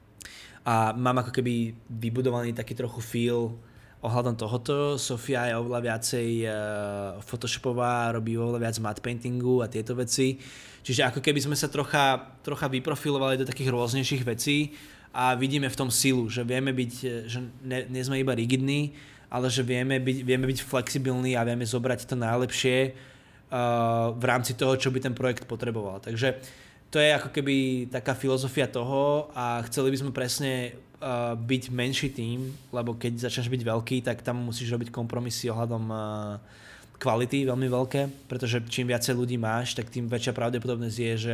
a mám ako keby vybudovaný taký trochu feel ohľadom tohoto. Sofia je oveľa viacej e, photoshopová, robí oveľa viac matte paintingu a tieto veci. Čiže ako keby sme sa trocha, trocha vyprofilovali do takých rôznejších vecí a vidíme v tom silu, že vieme byť, že ne, nie sme iba rigidní, ale že vieme byť, vieme byť flexibilní a vieme zobrať to najlepšie uh, v rámci toho, čo by ten projekt potreboval. Takže to je ako keby taká filozofia toho a chceli by sme presne uh, byť menší tím, lebo keď začneš byť veľký, tak tam musíš robiť kompromisy ohľadom uh, kvality veľmi veľké, pretože čím viacej ľudí máš, tak tým väčšia pravdepodobnosť je, že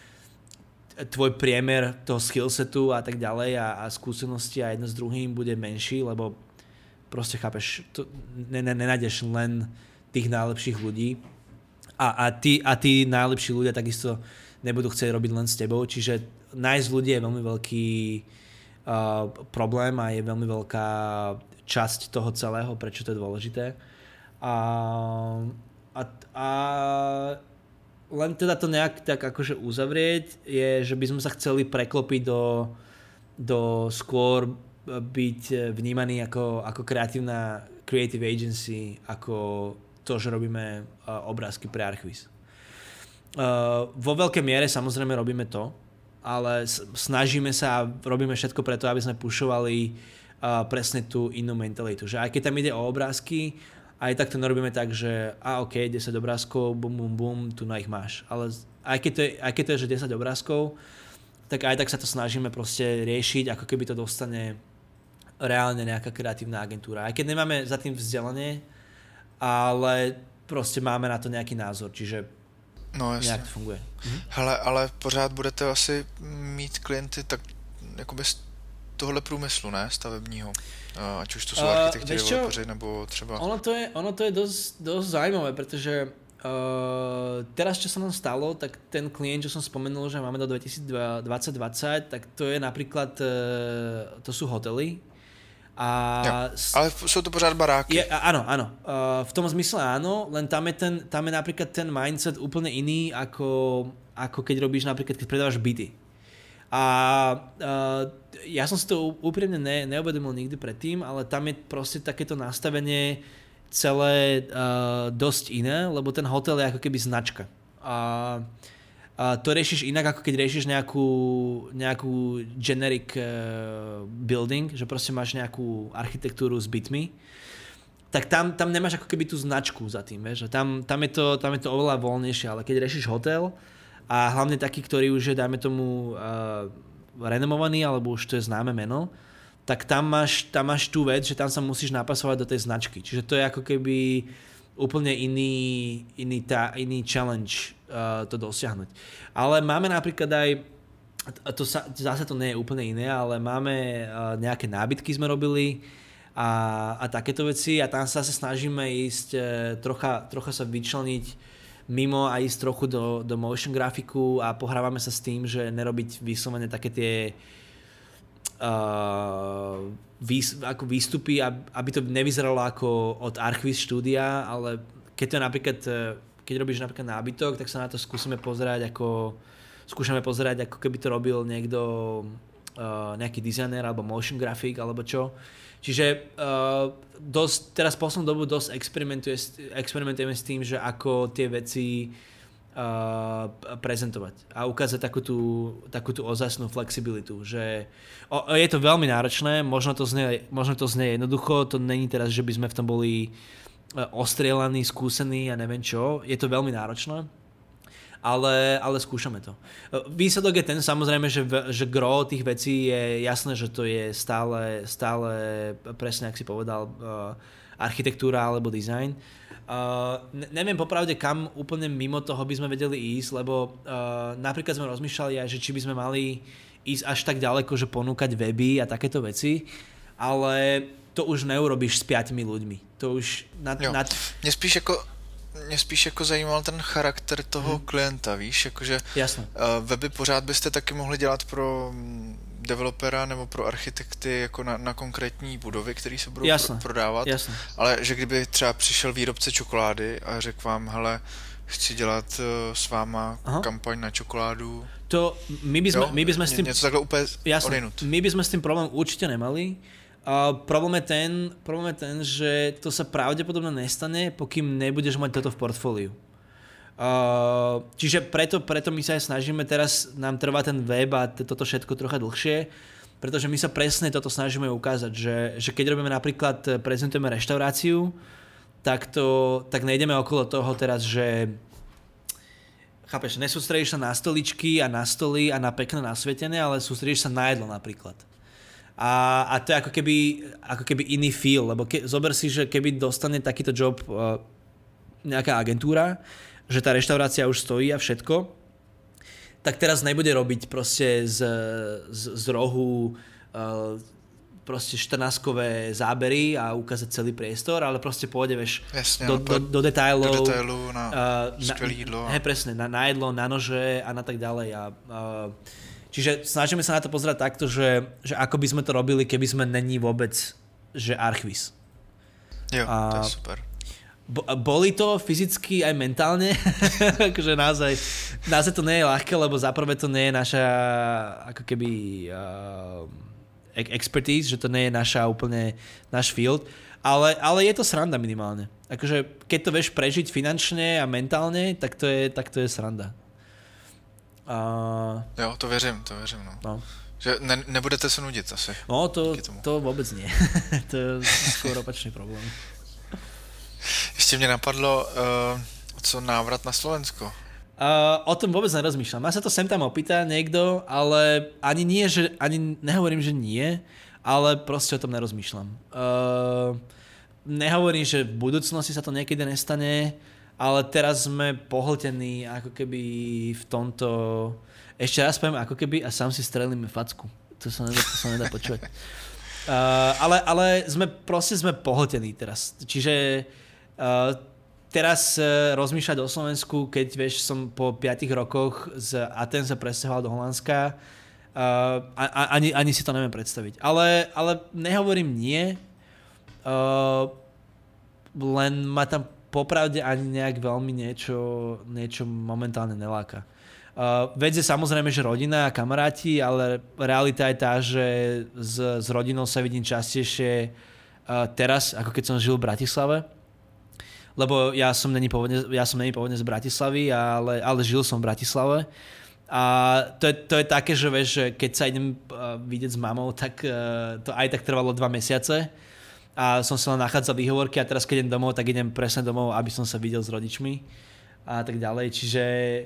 tvoj priemer toho skillsetu a tak ďalej a, a skúsenosti a jedno s druhým bude menší, lebo proste chápeš, to, ne, ne, nenájdeš len tých najlepších ľudí a, a, tí, a tí najlepší ľudia takisto nebudú chcieť robiť len s tebou, čiže nájsť ľudí je veľmi veľký uh, problém a je veľmi veľká časť toho celého, prečo to je dôležité. A, a, a len teda to nejak tak akože uzavrieť je, že by sme sa chceli preklopiť do, do skôr byť vnímaný ako, ako kreatívna creative agency, ako to, že robíme uh, obrázky pre Archviz. Uh, vo veľkej miere samozrejme robíme to, ale snažíme sa a robíme všetko preto, aby sme pušovali uh, presne tú inú mentalitu. Že aj keď tam ide o obrázky, aj tak to nerobíme tak, že a ok, desať obrázkov, bum, bum, bum, tu na ich máš. Ale aj keď to je, aj keď to je že desať obrázkov, tak aj tak sa to snažíme proste riešiť, ako keby to dostane reálne nejaká kreatívna agentúra. Aj keď nemáme za tým vzdelanie, ale proste máme na to nějaký názor, čiže no, nějak to funguje. Mhm. Hele, ale pořád budete asi mít klienty tak jakoby z tohle průmyslu, ne? Stavebního. Ať už to jsou architekti, developeři, nebo třeba... Ono to je, ono to je dosť, dosť zaujímavé, pretože uh, teraz, čo sa nám stalo, tak ten klient, čo som spomenul, že máme do dvetisícdvadsať dvadsať, tak to je napríklad, uh, to sú hotely. A s... Ale sú to pořád baráky. Je, áno, áno. Uh, v tom zmysle áno, len tam je, ten, tam je napríklad ten mindset úplne iný, ako, ako keď robíš napríklad, keď predávaš byty. A uh, ja som si to úprimne ne, neuvedomil nikdy predtým, ale tam je proste takéto nastavenie celé uh, dosť iné, lebo ten hotel je ako keby značka. A uh, to riešiš inak, ako keď riešiš nejakú, nejakú generic uh, building, že proste máš nejakú architektúru s bytmi, tak tam, tam nemáš ako keby tú značku za tým, vieš? Tam, tam, je to, tam je to oveľa voľnejšie, ale keď riešiš hotel, a hlavne taký, ktorý už je, dajme tomu, uh, renomovaný, alebo už to je známe meno, tak tam máš, tam máš tú vec, že tam sa musíš napasovať do tej značky. Čiže to je ako keby úplne iný, iný, tá, iný challenge uh, to dosiahnuť. Ale máme napríklad aj, a to sa, zase to nie je úplne iné, ale máme uh, nejaké nábytky sme robili a, a takéto veci a tam sa zase snažíme ísť uh, trocha, trocha sa vyčleniť mimo a ísť trochu do, do motion grafiku a pohrávame sa s tým, že nerobiť vyslovene také tie uh, výs, ako výstupy, aby to nevyzeralo ako od Archviz štúdia, ale keď to napríklad, keď robíš napríklad nábytok, tak sa na to skúsime pozerať ako, skúšame pozerať, ako keby to robil niekto, uh, nejaký dizajner alebo motion grafik alebo čo. Čiže uh, dosť, teraz poslednú dobu dosť experimentujeme s tým, že ako tie veci uh, prezentovať a ukázať takú tú, takú tú ozajstnú flexibilitu. Že, o, je to veľmi náročné, možno to znie, možno to znie jednoducho, to není teraz, že by sme v tom boli ostrielaný, skúsený a neviem čo. Je to veľmi náročné, ale, ale skúšame to. Výsledok je ten samozrejme, že, že gro tých vecí je jasné, že to je stále, stále presne, ak si povedal, architektúra alebo design. Uh, ne- neviem popravde, kam úplne mimo toho by sme vedeli ísť, lebo uh, napríklad sme rozmýšľali aj, že či by sme mali ísť až tak ďaleko, že ponúkať weby a takéto veci, ale to už neurobíš s piatimi ľuďmi. To už... Nad, nad... Mě spíš jako, mě spíš jako zajímal ten charakter toho hmm. klienta, víš, jakože uh, weby pořád byste taky mohli dělat pro developera nebo pro architekty jako na, na konkrétní budovy, které se budou Jasne. Pro, prodávat, Jasne. ale že kdyby třeba přišel výrobce čokolády a řekl vám, hele, chci dělat uh, s váma Aha. kampaň na čokoládu. To my by sme, jo, my by sme s tým... Něco takhle úplně odinut. My by sme s tým problém určite nemali. Uh, problém, je ten, problém je ten, že to sa pravdepodobne nestane, pokým nebudeš mať toto v portfóliu. Uh, čiže preto, preto my sa aj snažíme, teraz nám trvá ten web a toto všetko trocha dlhšie, pretože my sa presne toto snažíme ukázať, že, že keď robíme napríklad, prezentujeme reštauráciu, tak, to, tak nejdeme okolo toho teraz, že chápeš, nesústredíš sa na stoličky a na stoly a na pekné nasvietené, ale sústredíš sa na jedlo napríklad. A, a to je ako keby, ako keby iný feel, lebo ke, zober si, že keby dostane takýto job uh, nejaká agentúra, že tá reštaurácia už stojí a všetko, tak teraz nebude robiť proste z, z, z rohu uh, proste štrnáskové zábery a ukázať celý priestor, ale proste pôjde, vieš, Jasne, do, do, do detailov. Do detailu na uh, skvelé jídlo. Hej, presne, na, na jedlo, na nože a na tak ďalej. A, uh, čiže snažíme sa na to pozerať takto, že, že ako by sme to robili, keby sme není vôbec, že archviz. Jo, a, to je super. Boli to fyzicky aj mentálne, akože naozaj, naozaj to nie je ľahké, lebo zaprvé to nie je naša ako keby uh, expertise, že to nie je naša úplne náš field, ale, ale je to sranda minimálne. Akože keď to vieš prežiť finančne a mentálne, tak to je, tak to je sranda. Uh, jo, to věřím, to věřím, no. no. Že ne, nebudete se nudit asi. No, to, to vôbec nie. To je skôr opačný problém. Ještě mě napadlo, uh, co návrat na Slovensko? Uh, o tom vôbec nerozmýšľam. Ja sa to sem tam opýta niekto, ale ani nie, že ani nehovorím, že nie, ale proste o tom nerozmýšľam. Uh, nehovorím, že v budúcnosti sa to niekedy nestane, ale teraz sme pohltení ako keby v tomto... Ešte raz poviem ako keby a sám si strelíme facku. To sa nedá, to sa nedá počúvať. Uh, ale, ale sme proste sme pohltení teraz. Čiže uh, teraz uh, rozmýšľať o Slovensku, keď vieš, som po piatich rokoch z Aten sa presťahoval do Holandska, uh, a, ani, ani si to neviem predstaviť. Ale, ale nehovorím nie, uh, len ma tam popravde ani nejak veľmi niečo, niečo momentálne neláka. Uh, vec je samozrejme, že rodina a kamaráti, ale realita je tá, že s, s rodinou sa vidím častejšie uh, teraz, ako keď som žil v Bratislave. Lebo ja som není pôvodne, ja som není pôvodne z Bratislavy, ale, ale žil som v Bratislave. A to je, to je také, že vieš, že keď sa idem uh, vidieť s mamou, tak uh, to aj tak trvalo dva mesiace. A som sa len nachádzal výhovorky a teraz keď idem domov, tak idem presne domov, aby som sa videl s rodičmi a tak ďalej. Čiže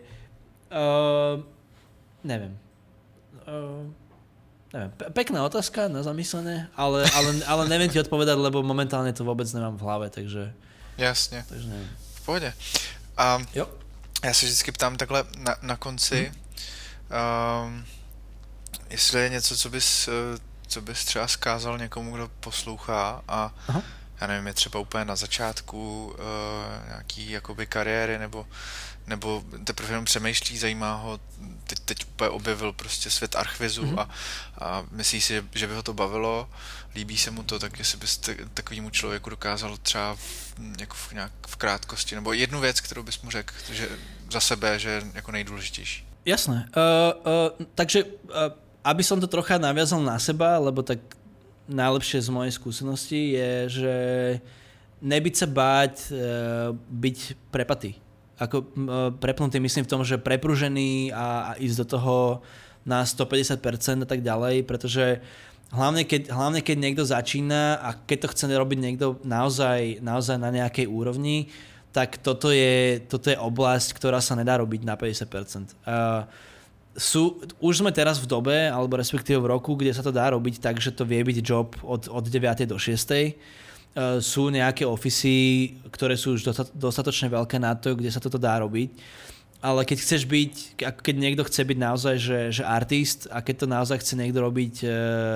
Uh, neviem. Uh, neviem. Pe- pekná otázka na zamyslené, ale, ale, ale neviem ti odpovedať, lebo momentálne to vôbec nemám v hlave, takže... Jasně. Takže neviem. V pohodě. A jo. Já se vždycky ptám takhle na, na konci, hmm. um, jestli je něco, co bys, co bys třeba zkázal někomu, kdo poslouchá a Aha. já nevím, je třeba úplně na začátku uh, nějaký jakoby kariéry nebo nebo teprve jenom přemýšlí, zajímá ho, teď, teď úplně objevil prostě svět archvizu mm-hmm. a, a myslí si, že by ho to bavilo, líbí se mu to, tak jestli byste takovému člověku dokázal třeba v, jako v, nějak v krátkosti, nebo jednu věc, kterou bys mu řekl, že za sebe, že je jako nejdůležitější. Jasné. Uh, uh, takže, uh, aby som to trocha naviazal na seba, lebo tak najlepšie z mojej skúsenosti je, že nebyť sa báť uh, byť prepatý. Ako uh, prepnutý, myslím v tom, že prepružený a, a ísť do toho na stopäťdesiat percent a tak ďalej, pretože hlavne keď, hlavne keď niekto začína a keď to chce robiť niekto naozaj, naozaj na nejakej úrovni, tak toto je, toto je oblasť, ktorá sa nedá robiť na päťdesiat percent. Uh, sú, už sme teraz v dobe, alebo respektíve v roku, kde sa to dá robiť tak, že to vie byť job od, od deviatej do šiestej. Uh, sú nejaké ofisy, ktoré sú už dostatočne veľké na to, kde sa toto dá robiť. Ale keď chceš byť, keď niekto chce byť naozaj, že, že artist a keď to naozaj chce niekto robiť uh,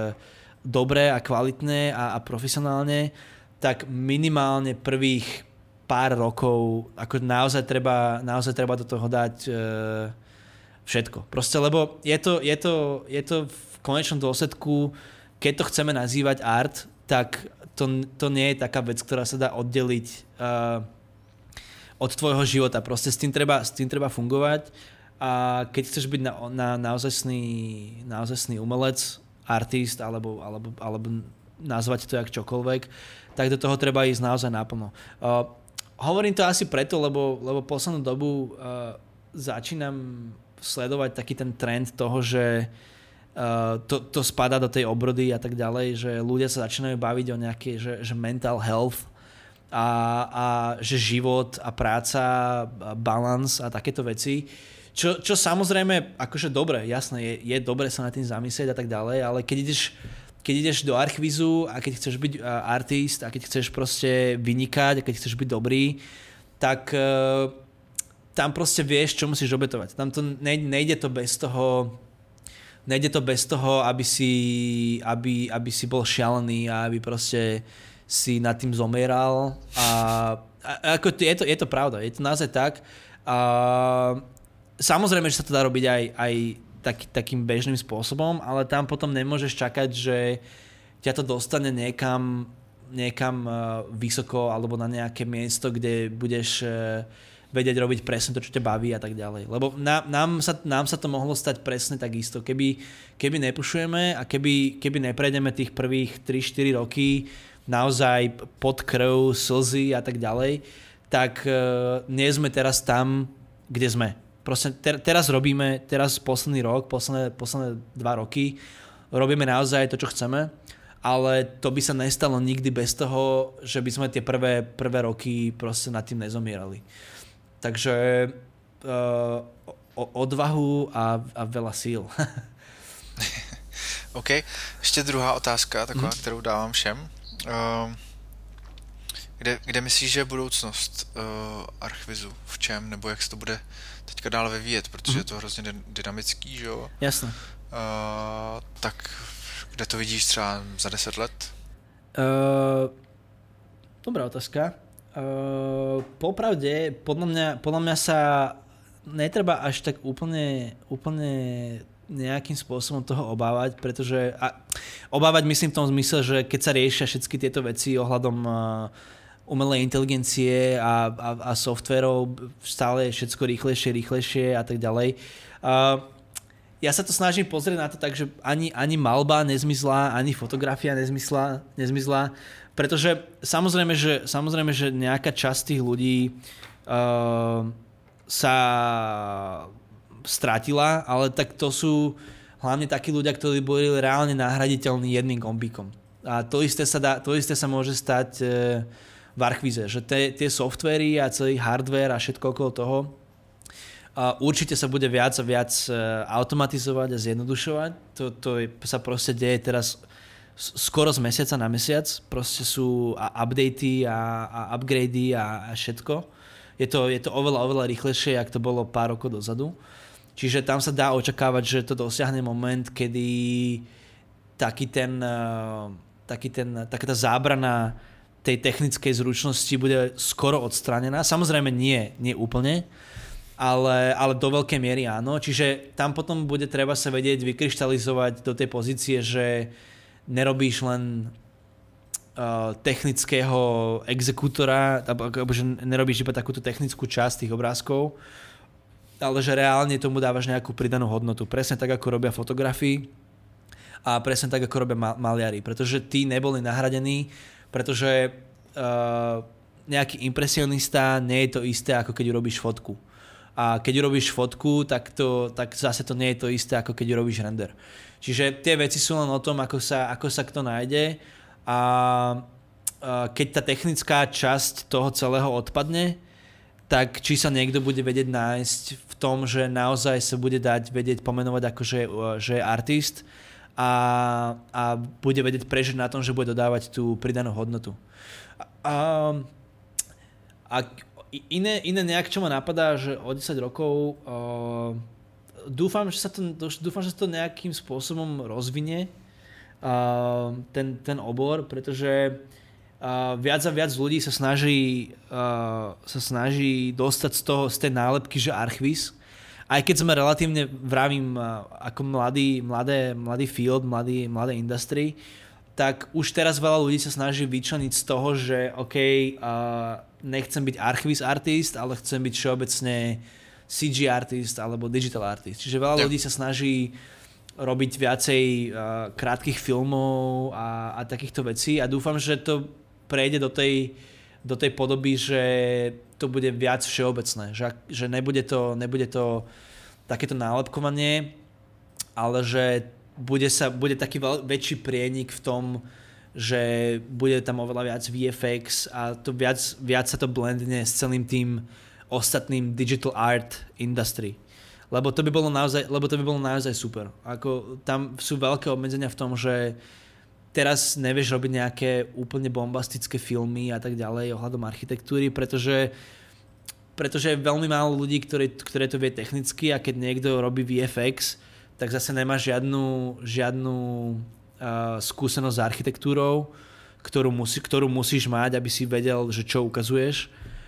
dobre a kvalitne a, a profesionálne, tak minimálne prvých pár rokov ako naozaj treba, naozaj treba do toho dať uh, všetko. Proste, lebo je to, je, to, je to v konečnom dôsledku, keď to chceme nazývať art, tak to, to nie je taká vec, ktorá sa dá oddeliť uh, od tvojho života. Proste s tým treba, s tým treba fungovať a keď chceš byť na, na, naozajstný, naozajstný umelec, artist alebo, alebo, alebo nazvať to jak čokoľvek, tak do toho treba ísť naozaj naplno. Uh, hovorím to asi preto, lebo, lebo poslednú dobu uh, začínam sledovať taký ten trend toho, že uh, to, to spadá do tej obrody a tak ďalej, že ľudia sa začínajú baviť o nejaké, že, že mental health a, a že život a práca, balans a takéto veci. Čo, čo samozrejme, akože dobre, jasné, je, je dobre sa nad tým zamyslieť a tak ďalej, ale keď ideš, keď ideš do archvízu a keď chceš byť uh, artist a keď chceš proste vynikať a keď chceš byť dobrý, tak uh, tam proste vieš, čo musíš obetovať. Tam to nejde, nejde to bez toho, nejde to bez toho, aby si, aby, aby si bol šialený a aby proste si nad tým zomieral. A, a ako je to, je to pravda, je to naozaj tak. A samozrejme, že sa to dá robiť aj, aj tak, takým bežným spôsobom, ale tam potom nemôžeš čakať, že ťa to dostane niekam, niekam vysoko alebo na nejaké miesto, kde budeš vedieť robiť presne to, čo ťa baví a tak ďalej. Lebo nám, nám, sa, nám sa to mohlo stať presne takisto. Keby, keby nepušujeme a keby, keby neprejdeme tých prvých tri štyri roky naozaj pod krv, slzy a tak ďalej, tak uh, nie sme teraz tam, kde sme. Proste ter, teraz robíme, teraz posledný rok, posledné, posledné dva roky, robíme naozaj to, čo chceme, ale to by sa nestalo nikdy bez toho, že by sme tie prvé, prvé roky proste nad tým nezomierali. Takže uh, o, odvahu a, a veľa síl. OK. Ještě druhá otázka, taková, mm. kterou dávám všem. Uh, kde, kde myslíš, že je budoucnost uh, archvizu? V čem? Nebo jak se to bude teďka dál vyvíjet? Protože mm. je to hrozně dynamický, že jo? Jasné. Uh, tak kde to vidíš třeba za deset let? Uh, dobrá otázka. Uh, popravde, podľa mňa, podľa mňa sa netreba až tak úplne, úplne nejakým spôsobom toho obávať, pretože a, obávať myslím v tom zmysle, že keď sa riešia všetky tieto veci ohľadom uh, umelej inteligencie a, a, a softverov, stále je všetko rýchlejšie, rýchlejšie a tak ďalej. Uh, ja sa to snažím pozrieť na to tak, že ani, ani malba nezmizla, ani fotografia nezmizla, nezmizla pretože samozrejme, že, samozrejme, že nejaká časť tých ľudí uh, sa strátila, ale tak to sú hlavne takí ľudia, ktorí boli reálne nahraditeľní jedným gombíkom. A to isté sa, dá, to isté sa môže stať uh, v archvíze, že te, tie softvery a celý hardware a všetko okolo toho uh, určite sa bude viac a viac uh, automatizovať a zjednodušovať. To, to je, sa proste deje teraz skoro z mesiaca na mesiac, proste sú updaty a, a upgradey a, a všetko. Je to, je to oveľa, oveľa rýchlejšie, jak to bolo pár rokov dozadu. Čiže tam sa dá očakávať, že to dosiahne moment, kedy taký ten, taký ten, taká tá zábrana tej technickej zručnosti bude skoro odstránená. Samozrejme nie, nie úplne, ale, ale do veľkej miery áno. Čiže tam potom bude treba sa vedieť vykryštalizovať do tej pozície, že nerobíš len uh, technického exekútora, alebo že nerobíš iba takúto technickú časť tých obrázkov, ale že reálne tomu dávaš nejakú pridanú hodnotu. Presne tak, ako robia fotografii a presne tak, ako robia mal- maliari. Pretože tí neboli nahradení, pretože uh, nejaký impresionista nie je to isté, ako keď urobíš fotku. a keď urobíš fotku, tak, to, tak zase to nie je to isté, ako keď urobíš render. Čiže tie veci sú len o tom, ako sa, ako sa kto nájde a keď tá technická časť toho celého odpadne, tak či sa niekto bude vedieť nájsť v tom, že naozaj sa bude dať vedieť pomenovať ako že, že je artist a, a bude vedieť prežiť na tom, že bude dodávať tú pridanú hodnotu. A, a iné, iné nejak, čo ma napadá, že o desať rokov uh, dúfam, že sa to, dúfam, že sa to nejakým spôsobom rozvinie uh, ten, ten obor, pretože Uh, viac a viac ľudí sa snaží, uh, sa snaží dostať z toho, z tej nálepky, že archvíz. Aj keď sme relatívne, vravím, uh, ako mladý, mladé, mladý field, mladý, mladé industry, tak už teraz veľa ľudí sa snaží vyčleniť z toho, že OK, uh, nechcem byť archvíz artist, ale chcem byť všeobecne C G artist alebo digital artist. Čiže veľa ľudí sa snaží robiť viacej uh, krátkych filmov a, a takýchto vecí a dúfam, že to prejde do tej, do tej podoby, že to bude viac všeobecné, že, že nebude, to, nebude to takéto nálepkovanie, ale že bude, sa, bude taký veľ, väčší prienik v tom, že bude tam oveľa viac V F X a to viac, viac sa to blendne s celým tým ostatným digital art industry. Lebo to by bolo naozaj, lebo to by bolo naozaj super. Ako, tam sú veľké obmedzenia v tom, že teraz nevieš robiť nejaké úplne bombastické filmy a tak ďalej ohľadom architektúry, pretože, pretože je veľmi málo ľudí, ktoré, ktoré to vie technicky a keď niekto robí V F X, tak zase nemá žiadnu, žiadnu uh, skúsenosť s architektúrou, ktorú, musí, ktorú musíš mať, aby si vedel, že čo ukazuješ.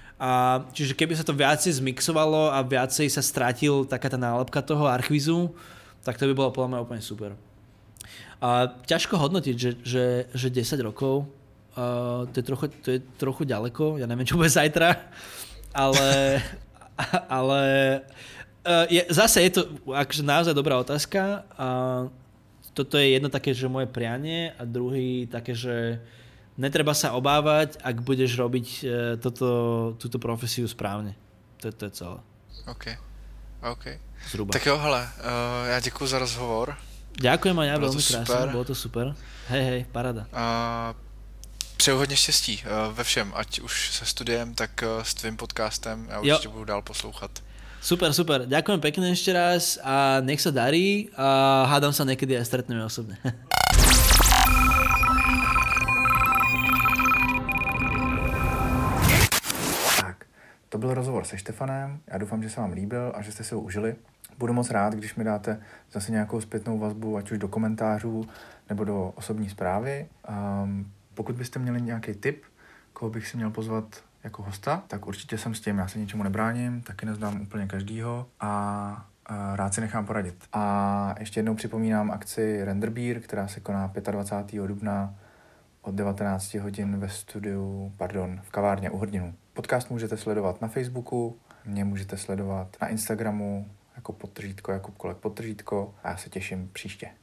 A čiže keby sa to viacej zmixovalo a viacej sa stratil taká tá nálepka toho archvízu, tak to by bolo podľa mňa úplne super. A ťažko hodnotiť, že, že, že desať rokov, uh, to, je trochu, to je trochu ďaleko, ja neviem, čo bude zajtra, ale, ale uh, je, zase je to akože naozaj dobrá otázka. Uh, toto je jedno také, že moje prianie a druhý také, že netreba sa obávať, ak budeš robiť uh, toto, túto profesiu správne. To, to je celé. OK, OK. Zhruba. Tak jo, hele, uh, já děkuji za rozhovor. Ďakujem aj ja, veľmi krásne, bolo to super. Hej, hej, paráda. Uh, přeju hodně štěstí uh, ve všem, ať už se studiem, tak uh, s tvým podcastem. Já určitě budu dál poslouchat. Super, super. Ďakujem pekne ešte raz a nech sa darí a hádam sa niekedy aj stretneme osobne. Tak, to byl rozhovor se Štefanem. Já doufám, že se vám líbil a že jste si ho užili. Budu moc rád, když mi dáte zase nějakou zpětnou vazbu, ať už do komentářů nebo do osobní zprávy. Um, pokud byste měli nějaký tip, koho bych si měl pozvat jako hosta, tak určitě jsem s tím, já se ničemu nebráním, taky neznám úplně každýho a, a rád si nechám poradit. A ještě jednou připomínám akci Render Beer, která se koná dvacátého pátého dubna od devatenáct hodin ve studiu, pardon, v kavárně u Hrdinů. Podcast můžete sledovat na Facebooku, mě můžete sledovat na Instagramu, jako podtržítko, Jakub Kolek podtržítko a já se těším příště.